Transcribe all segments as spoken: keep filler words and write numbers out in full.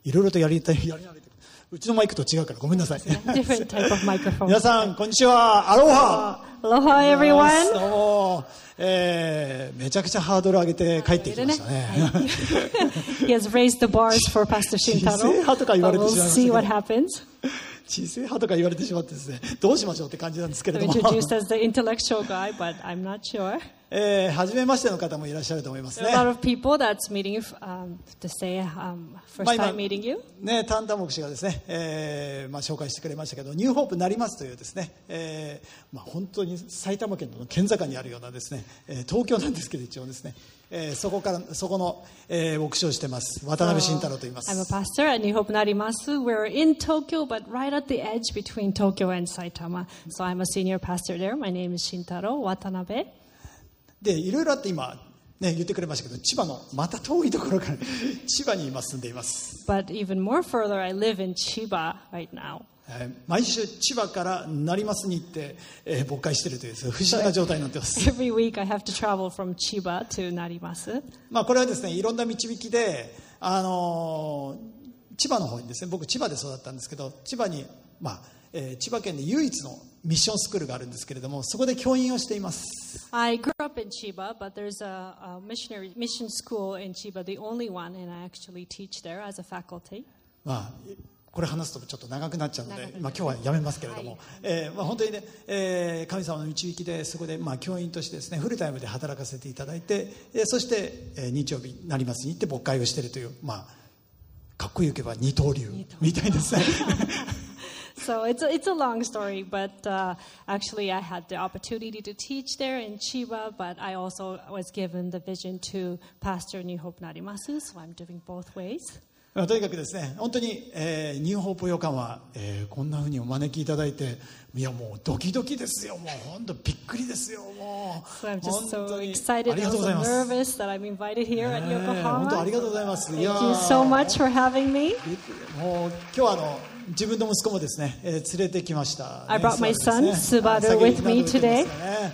いろいろとやりたい、やり慣れてる。うちのマイクと違うからごめんなさい。 Different type of microphone. 皆さん、こんにちは。アロハ。 Aloha, everyone. どうも、えー、めちゃくちゃハードル上げて帰ってきましたね。 He has raised the bars for Pastor Shintaro. 小さい派とか言われてしまいましたけど。 We'll see what happens. 小さい派とか言われてしまってですね、どうしましょうって感じなんですけれども。 Introduced as the intellectual guy, but I'm not sure. えー、初めましての方もいらっしゃると思いますね。 There are a lot of people that's meeting you, um, to say um, first time meeting you. ね、タンタ牧師がですね、えーまあ、紹介してくれましたけど、ニューホープなりますというですね、えーまあ、本当に埼玉県の県境にあるようなですね、えー、東京なんですけど一応ですね、えー、そこからそこの、えー、牧師をしてます渡辺慎太郎と言います。 I'm a pastor at New Hope Narimasu. We're in Tokyo, but right at the edge between Tokyo and Saitama. So I'm a senior pastor there. My name is Shintaro Watanabe. でいろいろあって今、ね、言ってくれましたけど、千葉のまた遠いところから千葉に今住んでいます。 But even more further, I live in Chiba right now. 毎週千葉から成増に行って、えー、牧会しているという不思議な状態になっています。 Every week I have to travel from Chiba to Narimasu. まあこれはですね、いろんな導きで、あのー、千葉の方にですね、僕千葉で育ったんですけど、千葉に、まあえー、千葉県で唯一のミッションスクールがあるんですけれども、そこで教員をしています。 I grew up in Chiba, but there's a, a missionary mission school in Chiba, the only one, and I actually teach there as a faculty. まあこれ話すとちょっと長くなっちゃうので、まあ、今日はやめますけれども、はい、えーまあ、本当にね、えー、神様の導きでそこでまあ教員としてですねフルタイムで働かせていただいて、えー、そして、えー、日曜日成増に行って牧会をしているという、まあ、かっこよく言えば二刀流みたいですね。 So it's a, it's a long story, but uh, actually I had the opportunity to teach there in Chiba, but I also was given the vision to pastor New Hope Narimasu, so I'm doing both ways. とにかくですね、本当に、えー、ニューホープ予感は、えー、こんなふうにお招きいただいて、いやもうドキドキですよ、もう本当びっくりですよ、もう。 So I'm just so excited and so nervous that I'm invited here at Yokohama. 本当ありがとうございます。 Thank you so much for having me. もう今日はあの自分の息子もですね、えー、連れてきました。 I brought my son Subaru with me today.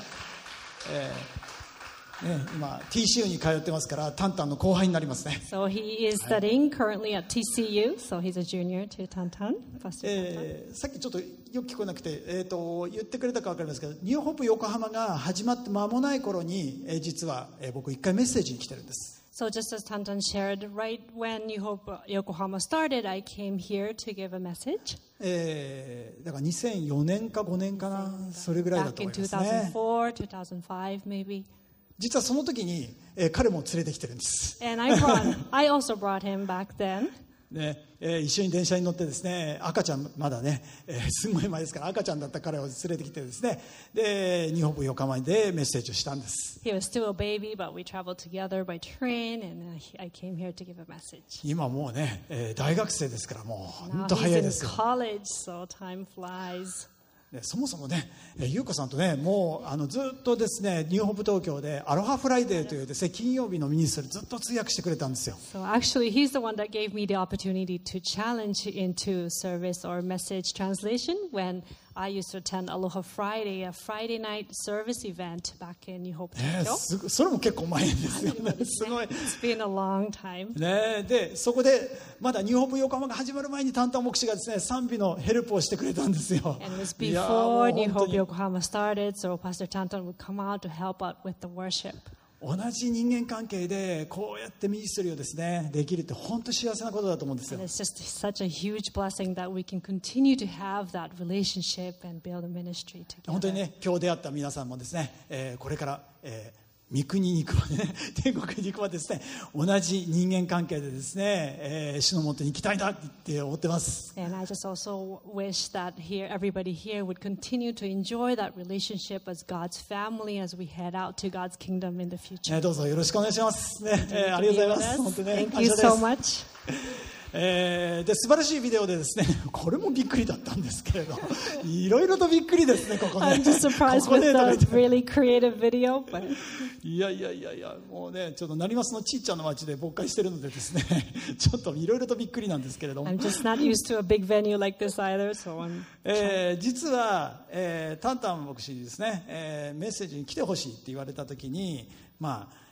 ね、今 ティーシーユー に通ってますからタンタンの後輩になりますね。 So he is studying currently at ティーシーユー, so he's a junior to Tantan. えー、さっきちょっとよく聞こえなくて、えー、と言ってくれたか分かりますけど、ニューホープ横浜が始まって間もない頃に、えー、実は、えー、僕一回メッセージに来てるんです。 So just as Tantan shared, right when New Hope Yokohama started, I came here to give a message. えー、だからにせんよねんかごねんかな、それぐらいだと思いますね。 Back in two thousand four, two thousand five maybe. 実はその時に、えー、彼も連れてきてるんです。 And I brought, I also brought him back then. ねえー、一緒に電車に乗ってですね、赤ちゃんまだね、えー、すごい前ですから赤ちゃんだった彼を連れてきてですね、でニューホープ横浜でメッセージをしたんです。 He was still a baby, but we traveled together by train, and I came here to give a message. 今もうね、えー、大学生ですからもう本当早いですよ。 Now he's in college, so time flies. そもそもね、優子さんとね、もうあのずっとですね、ニューホープ東京でアロハフライデーというですね、金曜日のミニストリーずっと通訳してくれたんですよ。 So actually, he's the one that gave me the opportunity to challenge into service or message translation when I used to attend Aloha Friday, a Friday night service event back in New Hope Tokyo. ね、それも結構前ですよね。すごい。 It's been a long time. ね、でそこでまだニューホープ横浜が始まる前にタンタン牧師がですね、賛美のヘルプをしてくれたんですよ。 And it was before New Hope Yokohama started, so Pastor Tantan would come out to help out with the worship. 同じ人間関係でこうやってミニストリーをですねできるって本当幸せなことだと思うんですよ。 And it's just such a huge blessing that we can continue to have that relationship and build a ministry together. 本当にね、今日出会った皆さんもですね、えー、これから、えー三国に行くまでね、天国に行くまでですね、同じ人間関係でですね、えー、主のもとに行きたいなって思ってます。 And I just also wish that here, everybody here would continue to enjoy that relationship as God's family as we head out to God's kingdom in the future. どうぞよろしくお願いします。ね、えー、ありがとうございます。本当ね、 Thank you so much. えー、で素晴らしいビデオでですね、これもびっくりだったんですけれど、いろいろとびっくりですね、ここね。 I'm just surprised with the really creative video, but いやいやいやいや、もうね、ちょっと成増のちっちゃな町で牧会してるのでですね、ちょっといろいろとびっくりなんですけれども。 I'm just not used to a big venue like this either, so I'm. えー、実は、えー、タンタン牧師にですね、えー、メッセージに来てほしいって言われたときに、まあ。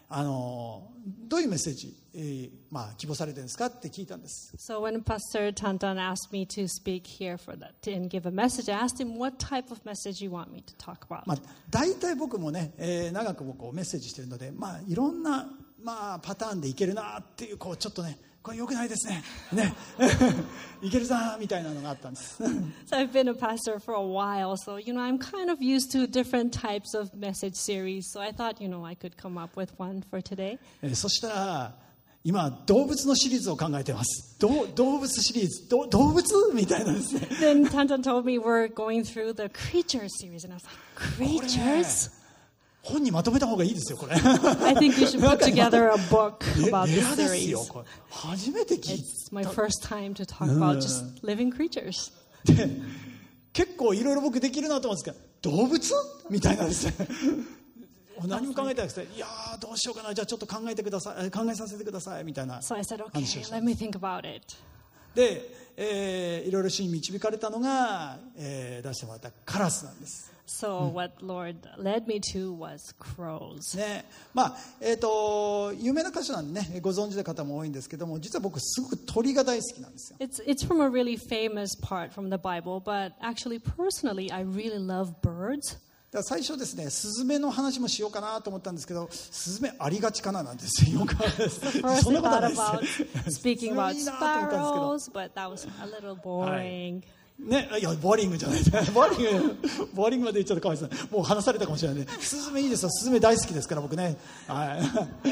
あのどういうメッセージ、えーまあ、希望されてるんですかって聞いたんです。 So when Pastor Tantan asked me to speak here for that and give a message, I asked him what type of message you want me to talk about. まあ、大体僕もね、えー、長くもこうメッセージしてるので、まあ、いろんな、まあ、パターンでいけるなっていう、こうちょっとね、これ良くないですね。ね。いけるぞみたいなのがあったんです。 So I've been a pastor for a while, so you know I'm kind of used to different types of message series. So I thought, you know, I could come up with one for today. えー、そしたら今動物のシリーズを考えてます。ど動物シリーズ、ど動物みたいなですね。 Then Tantan told me we're going through the creature series, and I was like, creatures? 本にまとめた方がいいですよこれ。 I think you should put together a book about レ this アですよ series. これ。初めて聞い It's my first time to talk about just living creatures. て、結構いろいろ僕できるなと思うんですけど、動物みたいなですね。何も考えてなくて、いやーどうしようかな、じゃあちょっと考えてください、考えさせてくださいみたいな。 So I said, okay, let me think about it. で、えー、いろいろ主に導かれたのが、えー、出してもらったカラスなんです。 So what Lord led me to was crows. ね、まあえー、と有名な歌手なんでね、ご存知の方も多いんですけども、実は僕すごく鳥が大好きなんですよ。 It's it's from a really famous part from the Bible, but actually personally I really love birds. だから最初ですね、スズメの話もしようかなと思ったんですけど、スズメありがちかななんですよ。よくあるです First そん I なことはな thought いです about ス speaking ズメ about いいなと思ったんですけど sparrows, but that was a little boring. ね、いやボーリングじゃないですボーリングボーリングまで言っちゃうとかわいそう。もう話されたかもしれないね。スズメいいですよ。スズメ大好きですから僕ね。はい。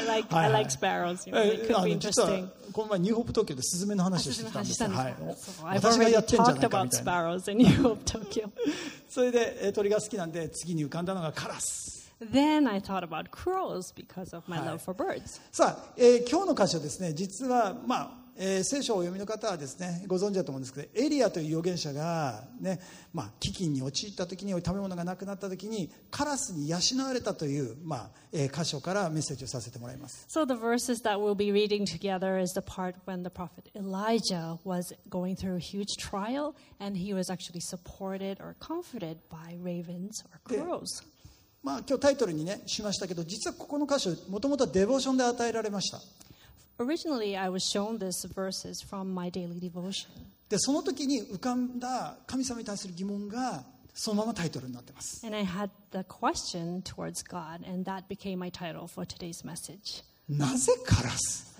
I like はい I はい like sparrows. You know, they え could あ be の実は interesting. この前ニューホープ東京でスズメの話をしてきたんですよ。はい。 So I've 私が already やってんじゃな talked いかみ about たいな。 sparrows in New Hope, Tokyo. それでえ鳥が好きなんで次に浮かんだのがカラス。 Then I thought about crows because of my はい love for birds. さあ、えー今日の箇所ですね、実はまあ。えー、聖書をお読みの方はですねご存知だと思うんですけど、エリアという預言者が、ねまあ、飢饉に陥った時に食べ物がなくなった時にカラスに養われたという、まあえー、箇所からメッセージをさせてもらいます。 So the verses that we'll be reading together is the part when the prophet Elijah was going through a huge trial and he was actually supported or comforted by ravens or crows. まあ、今日タイトルに、ね、しましたけど、実はここの箇所もともとはデボーションで与えられました。 Originally, I was shown these verses from my daily devotion. でその時に浮かんだ神様に対する疑問がそのままタイトルになっています。 And I had the question towards God, and that became my title for today's message. なぜカラス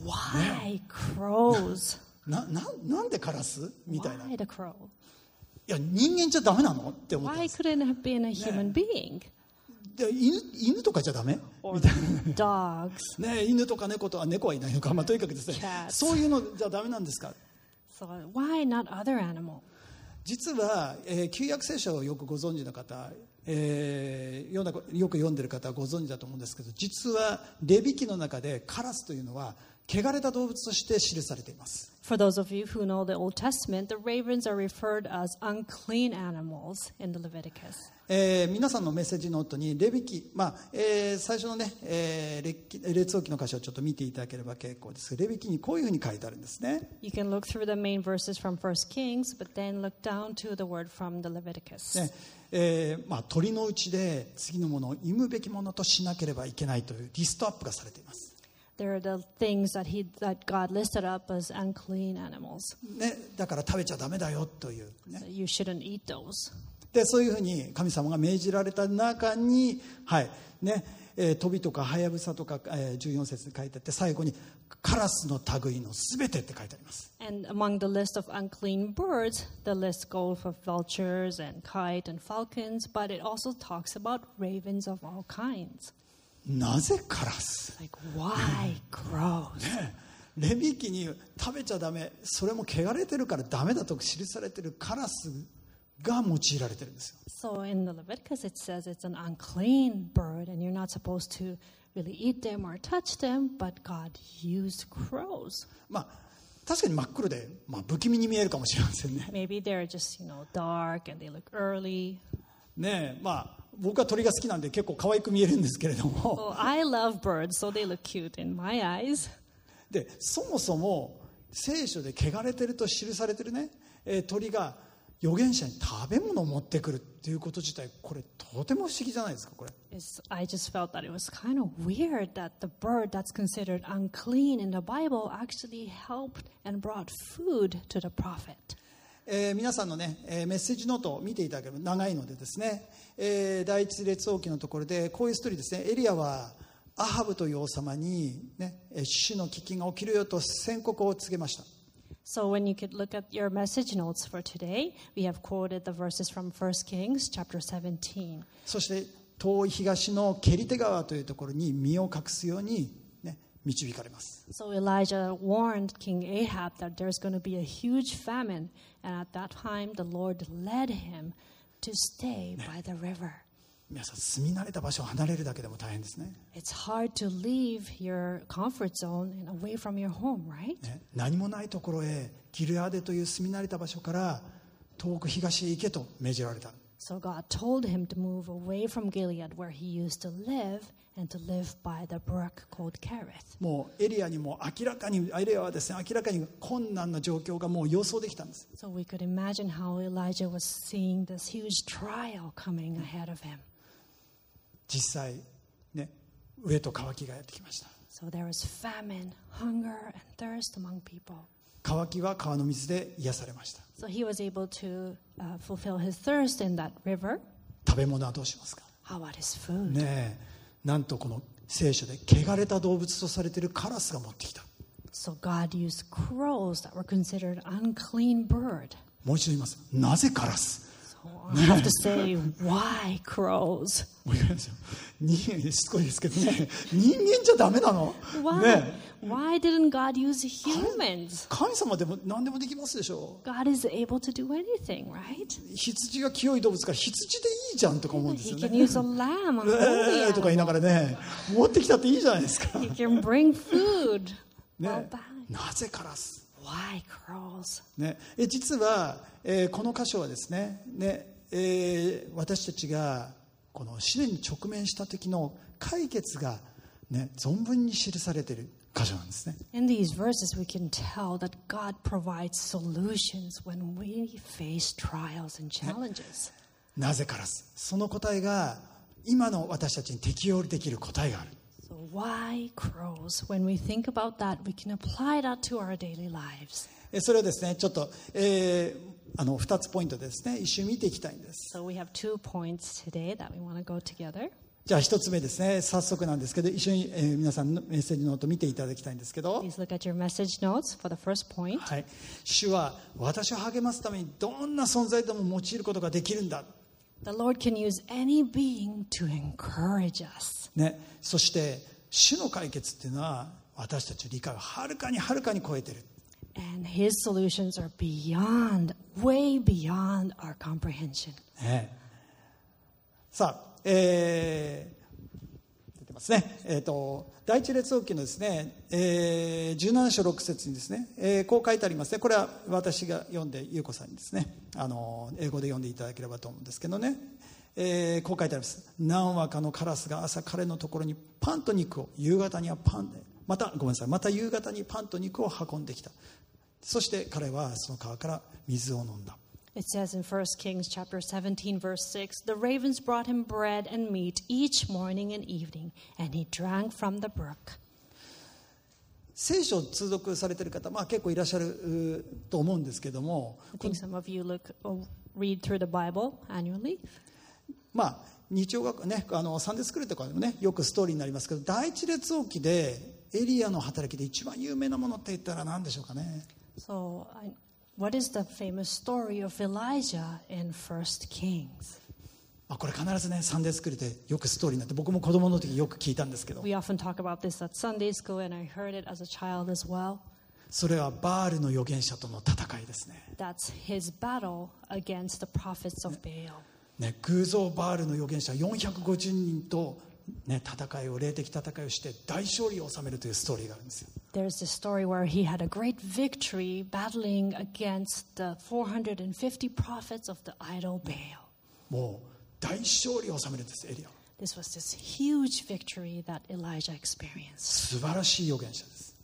Why crows? なななんでカラスみたいな。い Why the crow? や人間じゃダメなのって思ったん Why です。 couldn't it have been a human being? で犬, 犬とかじゃダメ Or みたい dogs? な、ね、犬とか猫とか猫はいないのか、まあ、とにかくですね Cats. そういうのじゃダメなんですか。 So why not other animal? 実は、えー、旧約聖書をよくご存知の方、えー、よく読んでる方はご存知だと思うんですけど、実はレビ記の中でカラスというのは汚れた動物として記されています。 For those of you who know the Old Testament, the ravens are referred as unclean animals in the Leviticus. えー、皆さんのメッセージノートにレビ記、まあえー、最初のね、えー、列王記の箇所をちょっと見ていただければ結構です。レビ記にこういうふうに書いてあるんですね。 You can look through the main verses from First Kings, but then look down to the word from the Leviticus. ねえーまあ、鳥のうちで次のものを忌むべきものとしなければいけないというリストアップがされています。 There are the things that he that God listed up as unclean animals. ね、だから食べちゃダメだよという、ね So you shouldn't eat those. でそういうふうに神様が命じられた中に、はいねえー、飛びとかハヤブサとか、えー、じゅうよん節に書いてあって、最後にカラスの類のすべてって書いてあります。 And among the list of unclean birds, the list goes for vultures and kite and falcons, but it also talks about ravens of all kinds. なぜカラス、 Like, why crows? ね、レビ記に食べちゃダメ、それも汚れてるからダメだと記されてるカラスが用いられてるんですよ。 So in the Leviticus it says it's an unclean bird and you're not supposed to really eat them or touch them, but God used crows. まあ確かに真っ黒で、まあ、不気味に見えるかもしれませんね。 Maybe they're just, you know, dark and they look early. ねえ、まあ僕は鳥が好きなんで結構可愛く見えるんですけれども、 Well, I love birds, so they look cute in my eyes. でそもそも聖書で汚れてると記されてるね、えー鳥が預言者に食べ物を持ってくるっていうこと自体、これとても不思議じゃないですか。これ It's, I just felt that it was kind of weird that the bird that's considered unclean in the Bible actually helped and brought food to the prophet. えー皆さんのね、えーメッセージノートを見ていただければ長いのでですね、えー第一列王記のところでこういうストーリーですね。エリアはアハブという王様に、ね、えー主の飢饉が起きるよと宣告を告げました。 So when you could look at your message notes for today, we have quoted the verses from First Kings chapter seventeen. そして遠い東のケリテ川というところに身を隠すように、ね、導かれます。 So Elijah warned King Ahab that there's going to be a huge famine, and at that time the Lord led him to stay by the river. 皆さん住み慣れた場所を離れるだけでも大変ですね。 It's hard to leave your comfort zone and away from your home, right? ね、何もないところへギルアデという住み慣れた場所から遠く東へ行けと命じられた。 So God told him to move away from Gilead where he used to live and to live by the brook called Kerith. もうエリアにも明らかにエリアはですね、明らかに困難な状況がもう予想できたんです。 So we could imagine how Elijah was seeing this huge trial coming ahead of him. 実際ね、飢えと渇きがやってきました。 So there was famine, hunger, and thirst among people. 渇きは川の水で癒されました。 So he was able to uh, fulfill his thirst in that river. 食べ物はどうしますか。 How about his food? ねえ、なんとこの聖書で汚れた動物とされているカラスが持ってきた。 So God used crows that were considered unclean bird. もう一度言います。なぜカラス。 So I have to say, why crows? もう一回言いますよ。人間しつこいですけどね、人間じゃダメなの。 Why? ねえ、 Why didn't God use humans? 神様でも何でもできますでしょ。 God is able to do anything, right? 羊が清い動物から羊でいいじゃんとか思うんですよ He ね。 can use a lamb, a え holy ーとか言いな animal. がらね、持ってきたっていいじゃないですか。 He can bring food. ね Well, bad. なぜカラス。 Why crows? ね、え実は、えーこの箇所はですね、ねえー私たちがこの試練に直面した時の解決が、ね、存分に記されている箇所なんですね。 In these verses, we can tell that God provides solutions when we face trials and challenges. なぜカラス。その答えが今の私たちに適用できる答えがある。 So why crows? When we think about that, we can apply that to our daily lives. えそれをですね、ちょっと、えーあのふたつポイントでですね、一緒に見ていきたいんです。 So we have two points today that we want to go together. じゃあ一つ目ですね、早速なんですけど、一緒に、えー皆さんのメッセージノート見ていただきたいんですけど、 Please look at your message notes for the first point. はい、主は私を励ますためにどんな存在でも用いることができるんだ、 The Lord can use any being to encourage us. ね、そして主の解決っていうのは私たちの理解をはるかにはるかに超えてる。 And his solutions are beyond, way beyond our comprehension. ね、さあ、えー、出てますね。えっ、と第一列王記のですね、えー、じゅうなな章ろく節にですね、えーこう書いてありますね。これは私が読んで優子さんにですね、あの英語で読んでいただければと思うんですけどね、えーこう書いてあります。何羽かのカラスが朝彼のところにパンと肉を、夕方にはパンで、またごめんなさい、また夕方にパンと肉を運んできた。そして彼はその川から水を飲んだ。 It says in First Kings chapter seventeen, verse six, the ravens brought him bread and meat each morning and evening, and he drank from the brook. 聖書を通読されている方、まあ、結構いらっしゃるうと思うんですけども、 I think some of you look or read through the Bible annually. まあ、日曜学ね、あのサンデースクールとかでもね、よくストーリーになりますけど、第一列王記でエリアの働きで一番有名なものって言ったら何でしょうかね。 So, I, what is the famous story of Elijah in First Kings? まあ、これ必ずね、サンデースクールでよくストーリーになって、僕も子供の時よく聞いたんですけど、 We often talk about this at Sunday school, and I heard it as a child as well. それはバールの預言者との戦いですね。 That's his battle against the prophets of Baal. ね、偶像バールの預言者よんひゃくごじゅうにんと、ね、戦いを霊的戦いをして大勝利を収めるというストーリーがあるんですよ。 There's this story where he had a great victory battling against the four hundred fifty prophets of the idol Baal. もう大勝利を収めるんです、エリアは。 This was this huge victory that Elijah experienced. 素晴らしい預言者です。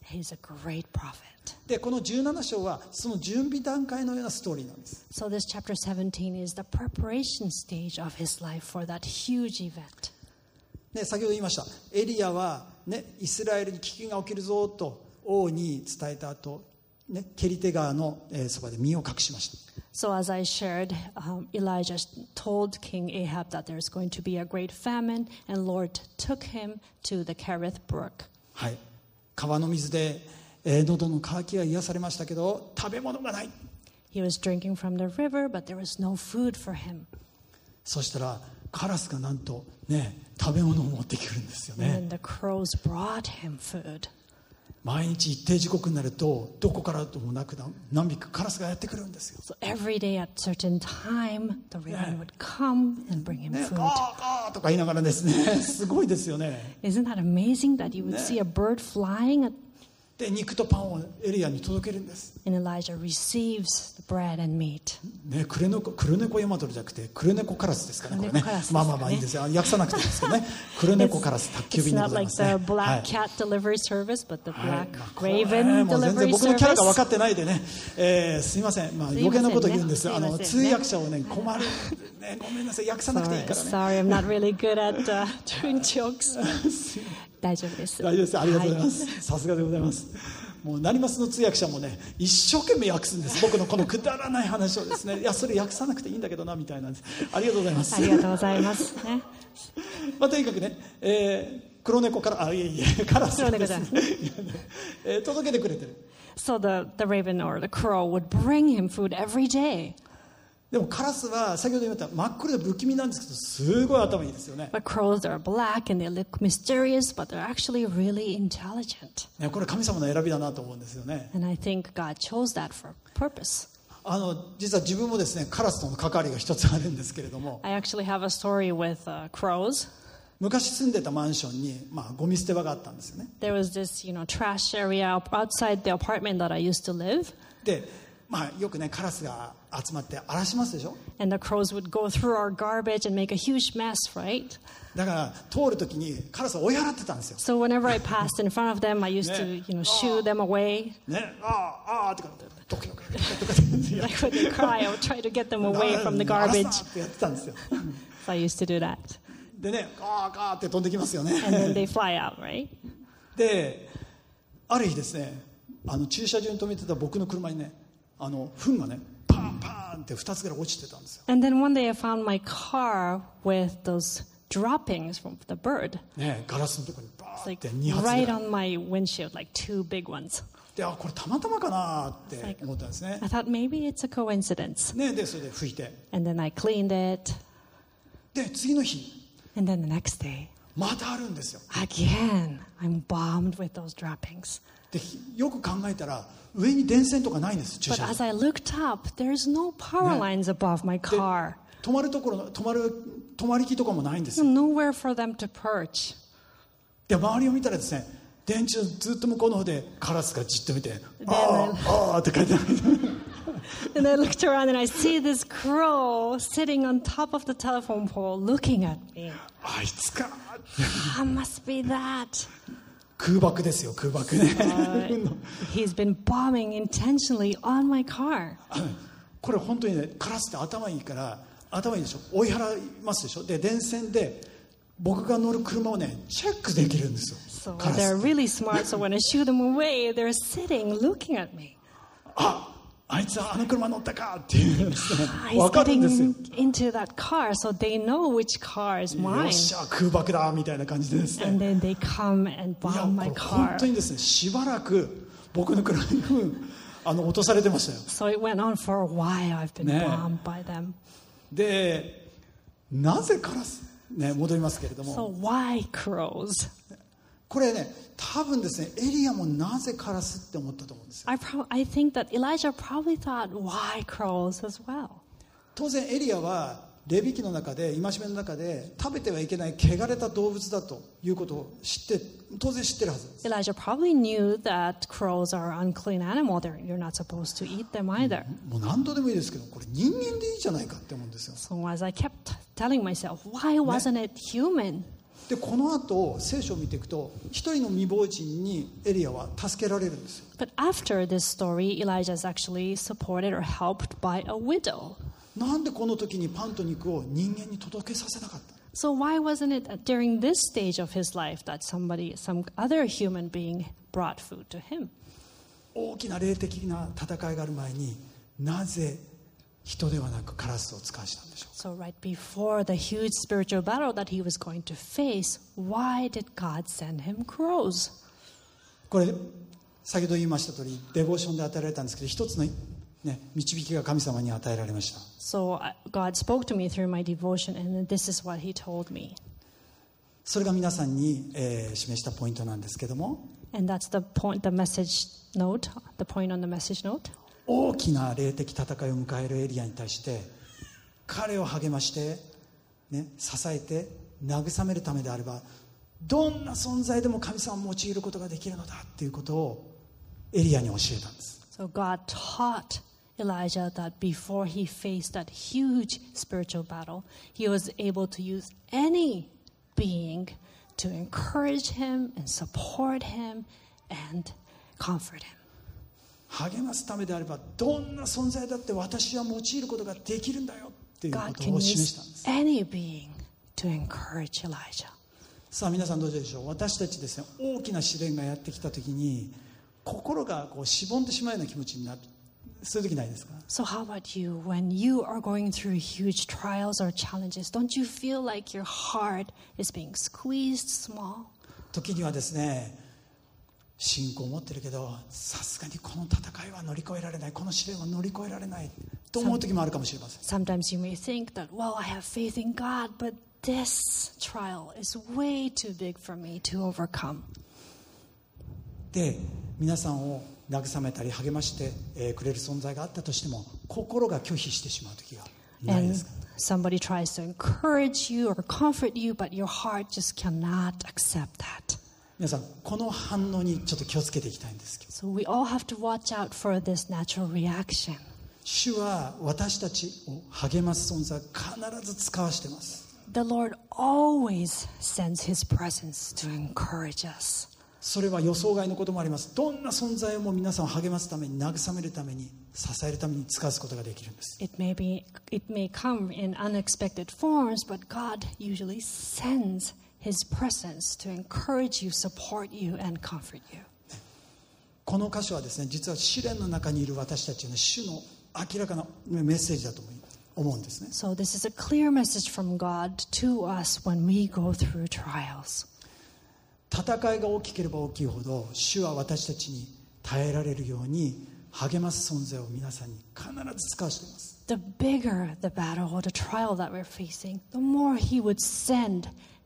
he's a great prophet. でこのじゅうなな章はその準備段階のようなストーリーなんです。 So this chapter seventeen is the preparation stage of his life for that huge event. ね、先ほど言いましたエリアは、ね、イスラエルに危機が起きるぞと王に伝えた後、ね、ケリテ川の、えー、そばで身を隠しました。 So as I shared, um, Elijah told King Ahab that there's going to be a great famine, and Lord took him to the Kerith Brook. はい、川の水で、えー、喉の渇きは癒されましたけど食べ物がない。 He was drinking from the river, but there was no food for him. そしたらカラスがなんとね食べ物を持ってくるんですよね。 And the crows brought him food. 毎日一定時刻になるとどこからともなく何匹かカラスがやってくるんですよ。 So every day at certain time, the raven would come and bring him ね、 food. ガーガーとか言いながらですねすごいですよね。 Isn't that amazing that you would see a bird flying at, で肉とパンをエリアに届けるんです。 and Elijah receives the bread and meat. ね、クレネコ、クレネコヤマトルじゃなくてクレネコカラスですかね、これね。 クレネコカラスですかね。 まあまあまあいいですよ。訳さなくていいですけどね。クレネコカラス宅急 It's 便でご not ざい like ますね。 the はい black cat delivery service, but the はい black まあこれ raven もう全然 delivery 僕のキャラが分か service. ってないでね、えーすいません、まあ、 すいませんね余計なこと言うんです。 すいあのませんね通訳者をね困る、ね、ごめんなさい、訳さなくていい Sorry, からね。 sorry, I'm not really good at uh, doing jokes. 大丈夫です。 大丈夫です。ありがとうございまはいす。さすがでございます。もう成増の通訳者もね一生懸命訳すんです。僕のこのくだらない話をですね、いやそれ訳さなくていいんだけどなみたいなんです。ありがとうございます。 ありがとうございますね。 まあ、とにかくね、えー、黒猫からあいえいえカラスがですね、えー届けてくれてる。 So the, the raven or the crow would bring him food every day. でもカラスは先ほど言った真っ黒で不気味なんですけどすごい頭いいですよね。 But crows are black and they look mysterious, but they're actually really intelligent. ね、これ神様の選びだなと思うんですよね。 And I think God chose that for a purpose. あの実は自分もですねカラスとの関わりが一つあるんですけれども、 I actually have a story with uh, crows. 昔住んでたマンションに、まあ、ゴミ捨て場があったんですよね。 There was this, you know, trash area outside the apartment that I used to live. で、まあ、よくねカラスが集まって荒らしますでしょ。 And the crows would go through our garbage and make a huge mess, right? だから通るときにカラスを追い払ってたんですよ。 So whenever I passed in front of them, I used to, you know, shoo them away. ね、ああああとかドキドキドキドキドキ Like when they cry, I would try to get them away from the 荒ら garbage. すなってやってたんですよ。 So I used to do that. でねガーガーって飛んできますよね。 And then they fly out, right? である日ですねあの駐車場に止めてた僕の車にねあの糞がねパンパンってふたつぐらい落ちてたんですよ。 And then one day I found my car with those droppings from the bird. ね、ガラスのところにバ It's ーっ like てに発ぐらい right on my windshield, like two big ones. であこれたまたまかなって思ったんですね。 I thought maybe it's a coincidence. ねでそれで拭いて And then I cleaned it. で次の日 And then the next day, またあるんですよ。 again, I'm bombed with those droppings. でよく考えたら上に電線とかないんです駐 But 車場 as I looked up, there's no power lines above my car. 止まるところ止まる止まり木とかもないんですよ。 Nowhere for them to perch. で周りを見たらですね電柱ずっと向こうの方でカラスがじっと見てあーあーって書いてある。 And I looked around and I see this crow sitting on top of the telephone pole looking at me. あいつか Ah, must be that. 空爆ですよ空爆ね。 Uh, he's been bombing intentionally on my car. これ本当にねカラスって頭いいから頭いいでしょ追い払いますでしょ。で電線で僕が乗る車をねチェックできるんですよ。 So カラス they're really smart. So when I shoo them away, they're sitting looking at me. ああいつはあの車乗ったかっていうですね He's 分かるんですよ。 getting into that car, so they know which car is よ mine. っしゃ空爆だみたいな感じでですね。 And then they come and いや bomb こ my れ本 car. 当にですねしばらく僕の車に糞あの落とされてましたよ。 So it went on for a while. I've been ね。 bombed by them. でなぜカラスね戻りますけれども So why crows? これね多分ですねエリアもなぜカラスって思ったと思うんですよ。 I, pro- I think that Elijah probably thought, why crows as well? 当然エリアはレビ記の中で戒めの中で食べてはいけない汚れた動物だということを知って当然知ってるはずです。 Elijah probably knew that crows are an unclean animal. They're, you're not supposed to eat them either. もう何度でもいいですけどこれ人間でいいじゃないかって思うんですよ。 So as I kept telling myself, why wasn't it human? でこの後聖書を見ていくと一人の未亡人にエリアは助けられるんですよ。 But after this story, Elijah is actually supported or helped by a widow. なんでこの時にパンと肉を人間に届けさせなかった？ So why wasn't it during this stage of his life that somebody, some other human being brought food to him? 大きな霊的な戦いがある前になぜ人ではなくカラスを使わしたんでしょうか。 So right before the huge spiritual battle that he was going to face, why did God send him crows? これ先ほど言いました通りデボーションで与えられたんですけど、一つの、ね、導きが神様に与えられました。 So uh, God spoke to me through my devotion, and this is what he told me. それが皆さんに、えー示したポイントなんですけども、 And that's the point, the message note, the point on the message note. 大きな霊的戦いを迎えるエリアに対して彼を励まして、ね、支えて慰めるためであればどんな存在でも神様を用いることができるのだっていうことをエリアに教えたんです。 So God taught Elijah that before he faced that huge spiritual battle, he was able to use any being to encourage him and support him and comfort him. 励ますためであればどんな存在だって私は用いることができるんだよっていうこ God と can を示 use したんです。 any being to encourage Elijah. さあ皆さんどうでしょう。私たちですね、大きな試練がやってきた時に心がこうしぼんでしまうような気持ちになる、そういう時ないですか？ So how about you? When you are going through huge trials or challenges, don't you feel like your heart is being squeezed small? 時にはですね、信仰を持ってるけどさすがにこの戦いは乗り越えられない、この試練は乗り越えられないと思う時もあるかもしれません。 Sometimes you may think that, well, I have faith in God, but this trial is way too big for me to overcome. で皆さんを慰めたり励ましてえーくれる存在があったとしても心が拒否してしまう時がないで And すか？ somebody tries to encourage you or comfort you, but your heart just cannot accept that. 皆さんこの反応にちょっと気をつけていきたいんですけど、 So we all have to watch out for this natural reaction. 主は私たちを励ます存在を必ず使わしています。 The Lord always sends his presence to encourage us. それは予想外のこともあります。どんな存在も皆さんを励ますために慰めるために支えるために使わすことができるんです。 It may be, it may come in unexpected forms, but God usually sends his presence to encourage you, support you, and comfort you. この箇所はですね、実は試練の中にいる私たちの主の明らかなメッセージだと思うんですね。 So this is a clear message from God to us when we go through trials. 戦いが大きければ大きいほど主は私たちに耐えられるように励ます存在を皆さんに必ず使わしています。 The bigger the battle or the trial that we're facing, the more he would send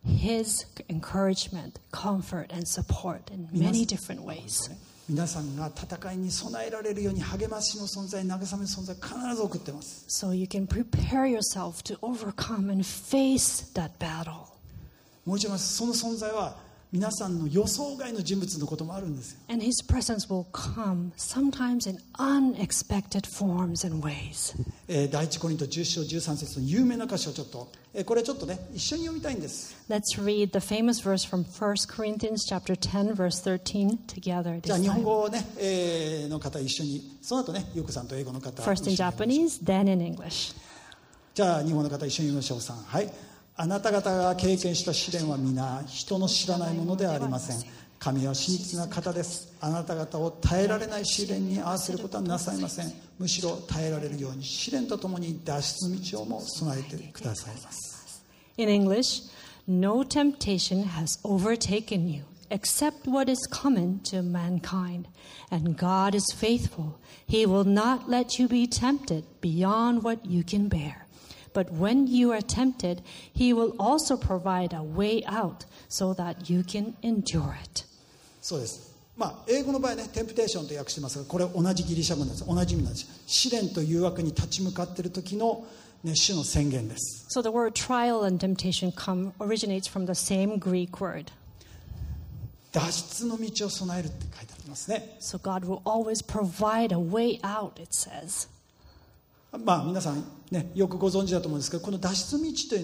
his encouragement, comfort, and support in many different ways. 皆さんが戦いに備えられるように励ましの存在、慰めの存在を必ず送っています。 So you can prepare yourself to overcome and face that battle. もう一度言います。その存在は皆さんの予想外の人物のこともあるんですよ。 And his presence will come sometimes in unexpected forms and ways. えー第一コリントじゅっ章じゅうさん節の有名な箇所をちょっと、えーこれちょっとね一緒に読みたいんです。 Let's read the famous verse from First Corinthians chapter ten, verse thirteen together じゃあ this 日本 time. 語ね、えーの方一緒に、その後ねゆうこさんと英語の方 First in 一緒に読みましょう。 Japanese, then in English. じゃあ日本の方一緒に読みましょう。さん、はい。あなた方が経験した試練は皆人の知らないものではありません。神は真実な方です。あなた方を耐えられない試練に合わせることはなさいません。むしろ耐えられるように試練とともに脱出の道をも備えてくださいます。 In English, no temptation has overtaken you except what is common to mankind. And God is faithful. He will not let you be tempted beyond what you can bear. But when you are tempted, He will also provide a way out so that you can endure it. そうです。まあ、英語の場合ね、テンプテーションと訳してますが、これ同じギリシャ語なんです。同じ意味なんです。試練と誘惑に立ち向かっている時の、ね、主の宣言です。 So the word trial and temptation come originates from the same Greek word. 脱出の道を備えるって書いてありますね。 So God will always provide a way out, it says. まあ皆さんね、よくご存知だと思うんですけど、この脱出道というのは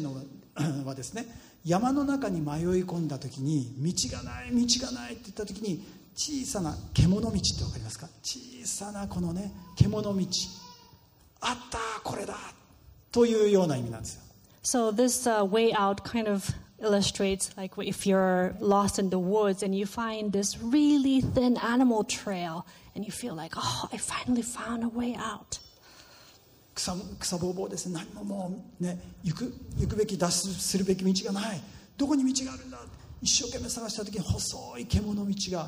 はですね、山の中に迷い込んだ時に道がない道がないって言った時に、小さな獣道って分かりますか？小さなこのね獣道、あったこれだというような意味なんですよ。 So this uh, way out kind of illustrates like if you're lost in the woods and you find this really thin animal trail and you feel like, oh, I finally found a way out. 草, 草ぼうぼうですね。何ももうね行く行くべき脱出するべき道がない。どこに道があるんだ。一生懸命探した時に細い獣道が。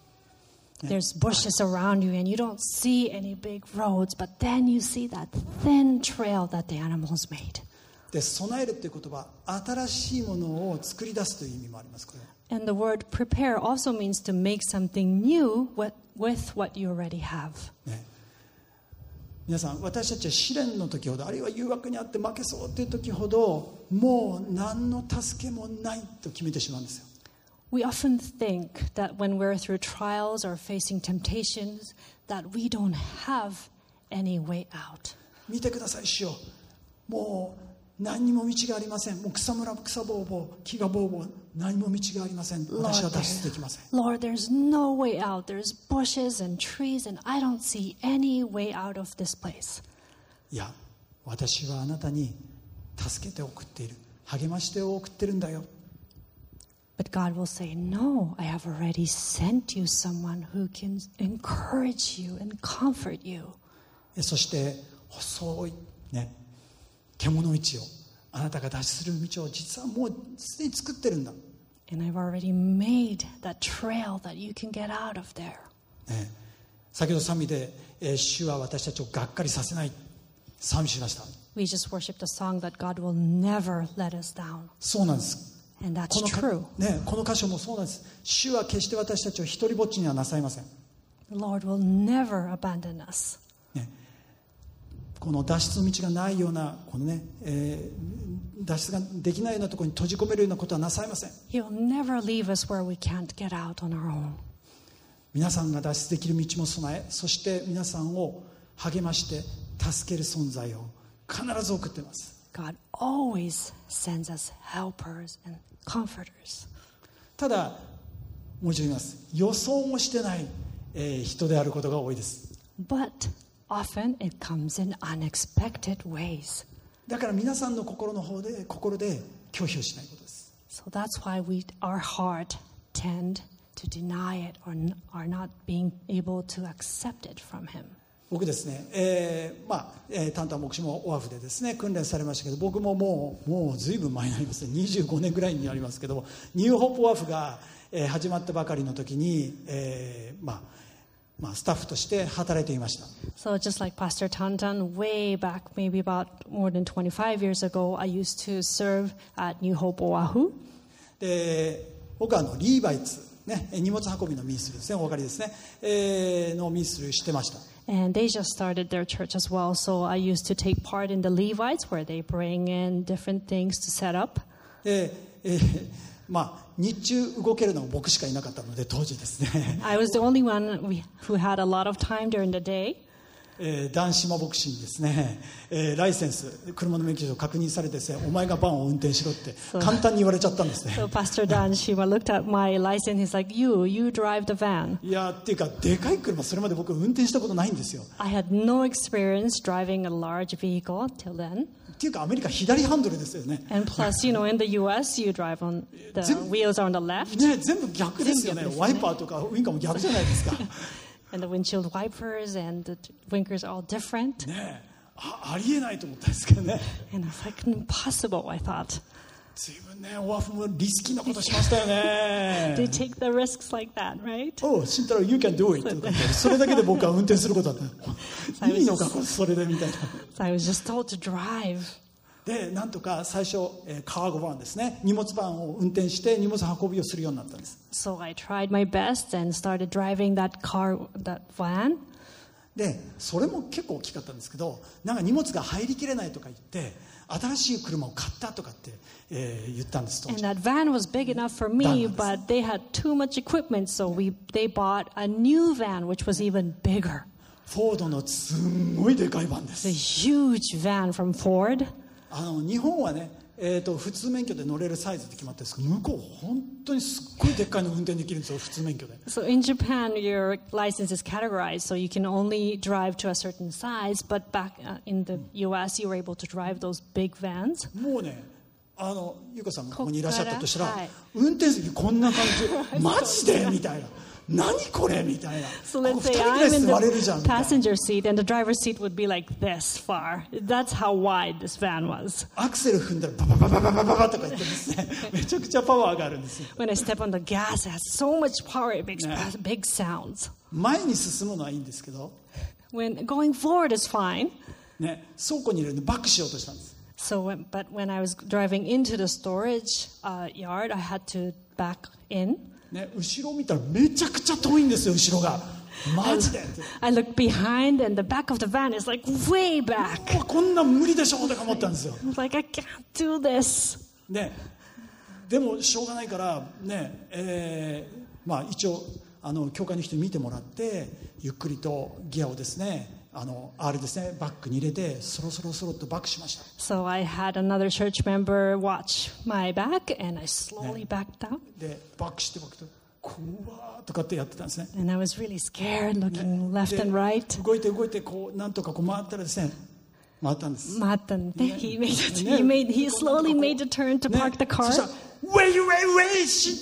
There's bushes around you and you don't see any big roads, but then you see that thin trail that the animals made. で、備えるという言葉、新しいものを作り出すという意味もあります。これ。 And the word prepare also means to make something new with, with what you already have. ね、皆さん、私たちは試練の時ほど、あるいは誘惑にあって負けそうという時ほど、もう何の助けもないと決めてしまうんですよ。 We often think that when we're through trials or facing temptations, that we don't have any way out. 見てください、主よ。もう何にも道がありません。もう草むら、草ぼうぼう、木がぼうぼう、何も道がありません。私は脱出できません。 Lord, there's no way out. There's bushes and trees, and I don't see any way out of this place. いや、私はあなたに助けて送っている。励まして送ってるんだよ。 But God will say, no, I have already sent you someone who can encourage you and comfort you. そして細いね獣道を、あなたが脱出する道を実はもうすでに作ってるんだ。 And I've already made that trail that you can get out of there. ね、先ほど賛美で、えー、主は私たちをがっかりさせない賛美しました。 We just worshipped a song that God will never let us down. そうなんです。 And that's この true. ね、この箇所もそうなんです。主は決して私たちを一人ぼっちにはなさいません。 The Lord will never abandon us. ね、この脱出の道がないようなこのね、えー、脱出ができないようなところに閉じ込めるようなことはなさいません。 He will never leave us where we can't get out on our own. 皆さんが脱出できる道も備え、そして皆さんを励まして助ける存在を必ず送っています。 God always sends us helpers and comforters. ただもう一度言います。予想もしてない、えー、人であることが多いです。 But often it comes in unexpected ways. だから皆さんの心の方で心で拒否をしないことです。 So that's why we, our heart tend to deny it or are not being able to accept it from Him. 僕ですね、えーまあえー、タンタン牧師もオアフでですね訓練されましたけど、僕ももうもうずいぶん前になりますね、にじゅうごねんぐらいになりますけども、ニューホープオアフが、えー、始まったばかりの時に、えー、まあまあスタッフとして働いていました。 So just like Pastor Tantan, way back maybe about more than twenty-five years ago, I used to serve at New Hope Oahu. で、僕はあのリーバイツ、ね、荷物運びのミニストリーですね、お分かりですね、えー、のミニストリーしてました。 And they just started their church as well. So I used to take part in the Levites where they bring in different things to set up. で、えー、まあ日中動けるのは僕しかいなかったので当時ですね。 I was the only one who had a lot of time during the day. えー、男子牧師にですね、えー、ライセンス車の免許証を確認されてですね、お前がバンを運転しろって簡単に言われちゃったんですね。 So Pastor Dan Shima looked at my license. He's like, "You, you drive the van." いやっていうかでかい車それまで僕運転したことないんですよ。 I had no experience driving a large vehicle till then. っていうかアメリカ左ハンドルですよね。 And plus, you know, in the U S, you drive on the wheels are on the left. ね、全部逆ですよね。ワイパーとかウインカーも逆じゃないですか。 And the windshield wipers and the winkers are all different. ね、あ、ありえないと思ったんですけどね。 And it's like impossible, I thought. 随分ね、オアフもリスキーなことしましたよね。 They take the risks like that, right? Oh, 慎太郎 you can do it とかそれだけで僕は運転することだった。いいのかそれでみたいな。 So I was just told to drive. で、なんとか最初、えー、カーゴバンですね、荷物バンを運転して荷物運びをするようになったんです。 So I tried my best and started driving that car, that van. で、それも結構大きかったんですけど、なんか荷物が入りきれないとか言って、新しい車を買ったとかって、えー、言ったんです。 And that van was big enough for me, but they had too much equipment, so we they bought a new van, which was even bigger. フォードのすんごいでかいバンです。 The huge van from Ford. あの日本はね、 えー、と普通免許で乗れるサイズって決まってるんですけど、向こう本当にすっごいでっかいの運転できるんですよ、普通免許で。 So in Japan, your license is categorized, so you can only drive to a certain size. But back uh, in the U S, you were able to drive those big vans. もうね、あのゆかさんがここにいらっしゃったとしたら、 こっから、はい、 運転席こんな感じマジでみたいな、何これみたいな。 So let's say I'm in the passenger seat and the driver's seat would be like this far. That's how wide this van was. アクセル踏んだらババババババババとか言ってですね、めちゃくちゃパワーがあるんですよ。 When I step on the gas, it has so much power, it makes big sounds. 前に進むのはいいんですけど、 When going forward is fine. ね、倉庫に入れるのでバックしようとしたんです。 So, when, but when I was driving into the storage uh, yard, I had to back in. ね、後ろ見たらめちゃくちゃ遠いんですよ、後ろが。マジで。 I looked behind and the back of the van is like way back. こんな無理でしょとか思ったんですよ。 I was like, I can't do this. ね、でもしょうがないからね、えー、まあ一応あの教会の人に見てもらってゆっくりとギアをですね、あのあれですね、バックに入れてそろそろそろっとバックしました。 So I had another church member watch my back and I slowly backed out. でバックしてバックと怖ーとかってやってたんですね。 And I was really scared, looking left and right. 動いて動いてこうなんとかこう回ったらですね、回ったんです。 回ったんで、he made it. He made. He slowly made the turn to park the car. そしたら Wait, wait, wait, shit,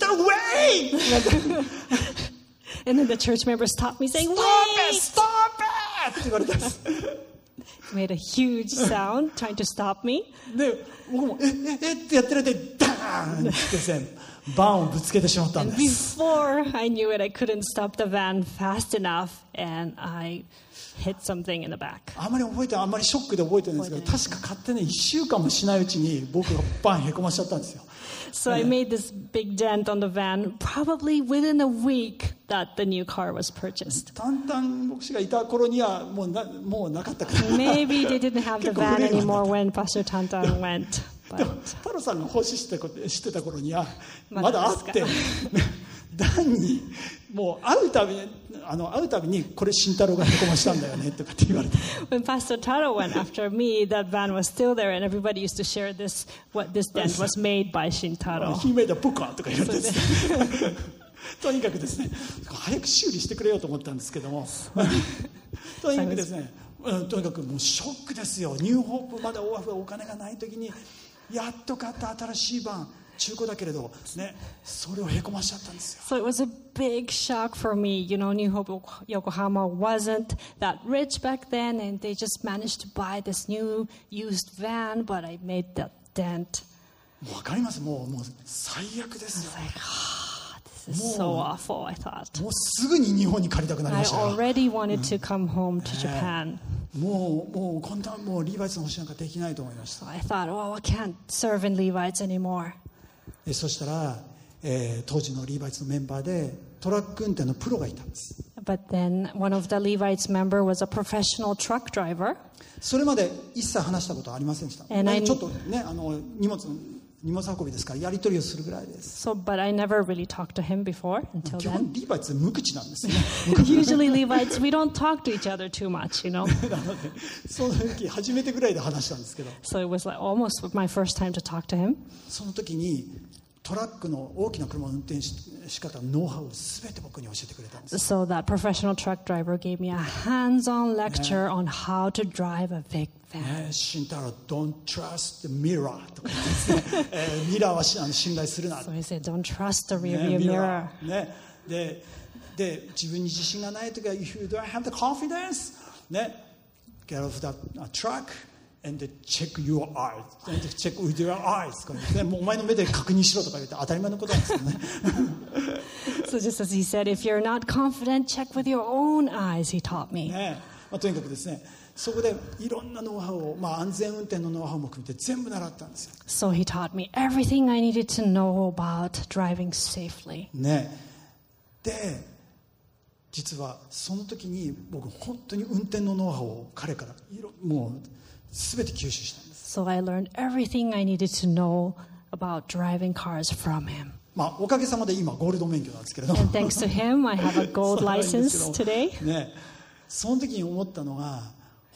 wait! And then the church member stopped me, saying, Stop "Wait!" it, stop it! って言われたんです。 Made a huge sound, trying to stop me. で、僕もえええってやってる間にダーンってですね、バンをぶつけてしまったん And です。 before I knew it, I couldn't stop the van fast enough, and I hit something in the back. あんまり覚えてあんまりショックで覚えてるんですけど、確か勝手にいっしゅうかんもしないうちに僕がバンへこましちゃったんですよ。 So I made this big dent on the van, probably within a week that the new car was purchased. タンタン牧師がいた頃にはもうなもうなかったから。 Maybe they didn't have the van anymore when Pastor Tantan went. でも But 太郎さんが欲しいって知ってた頃にはままだですかだあって、ダンにもう会うたびにあの会うたびにこれ慎太郎がへこましたんだよねとかって言われて。 when Pastor Taro went after me, that van was still there, and everybody used to share this. What this dent was made by Shintaro. ヒメイダポカとか言われてですね。とにかくですね、早く修理してくれようと思ったんですけども、とにかくですね、うん、とにかくもうショックですよ。ニューホープまだお金がない時にやっと買った新しいバン、中古だけれどね、それをへこましちゃったんですよ。 So it was a big shock for me. You know, New Hope Yokohama wasn't that rich back then, and they just managed to buy this new used van, but I made that dent. もうわかります。もうもう最悪ですよ。 Like, ah, this is so awful, I thought. もうすぐに日本に帰りたくなり I ましたよ。 already wanted to come home to Japan. もうもうこんなもうリーバイツの星なんかできないと思いました。 So I thought, oh, I can't serve in Levites anymore. でそしたら、えー、当時のリーバイツのメンバーでトラック運転のプロがいたんです。 But then one of the Levites member was a professional truck driver. それまで一切話したことはありませんでした。 And I- ちょっとね、あの荷物荷物運びですからやり取りをするぐらいです。 So, but I never really talked to him before until 基 then. 本リーバイツ無口なんですよね。 Usually Levites, we don't talk to each other too much, you know. なのでその時初めてぐらいで話したんですけど、 So it was like almost my first time to talk to him. その時にトラックの大きな車の運転し仕方のノウハウを全て僕に教えてくれたんです。 So that professional truck driver gave me a hands-on lecture on how to drive a big van. ね、慎太郎 Don't trust the mirror とか言ってですね、えー、ミラーはしあの信頼するな。 So he said, don't trust the ね rear view ミ mirror. ラーね、でで自分に自信がない時は If you don't have the confidence ね Get off that truck and check your eyes and check with your eyes とかね、もうお前の目で確認しろとか言って当たり前のことなんですよね。 So just as he said, if you're not confident, check with your own eyes, he taught me. ね、まあ、とにかくですね、そこでいろんなノウハウを、まあ、安全運転のノウハウも含めて全部習ったんですよ。 So he taught me everything I needed to know about driving safely. ね、で実はその時に僕本当に運転のノウハウを彼からいろもう全て吸収したんです。 So I learned everything I needed to know about driving cars from him. まあ、おかげさまで今ゴールド免許なんですけれども And thanks to him, I have a gold そうなんです license けど today. ね、その時に思ったのが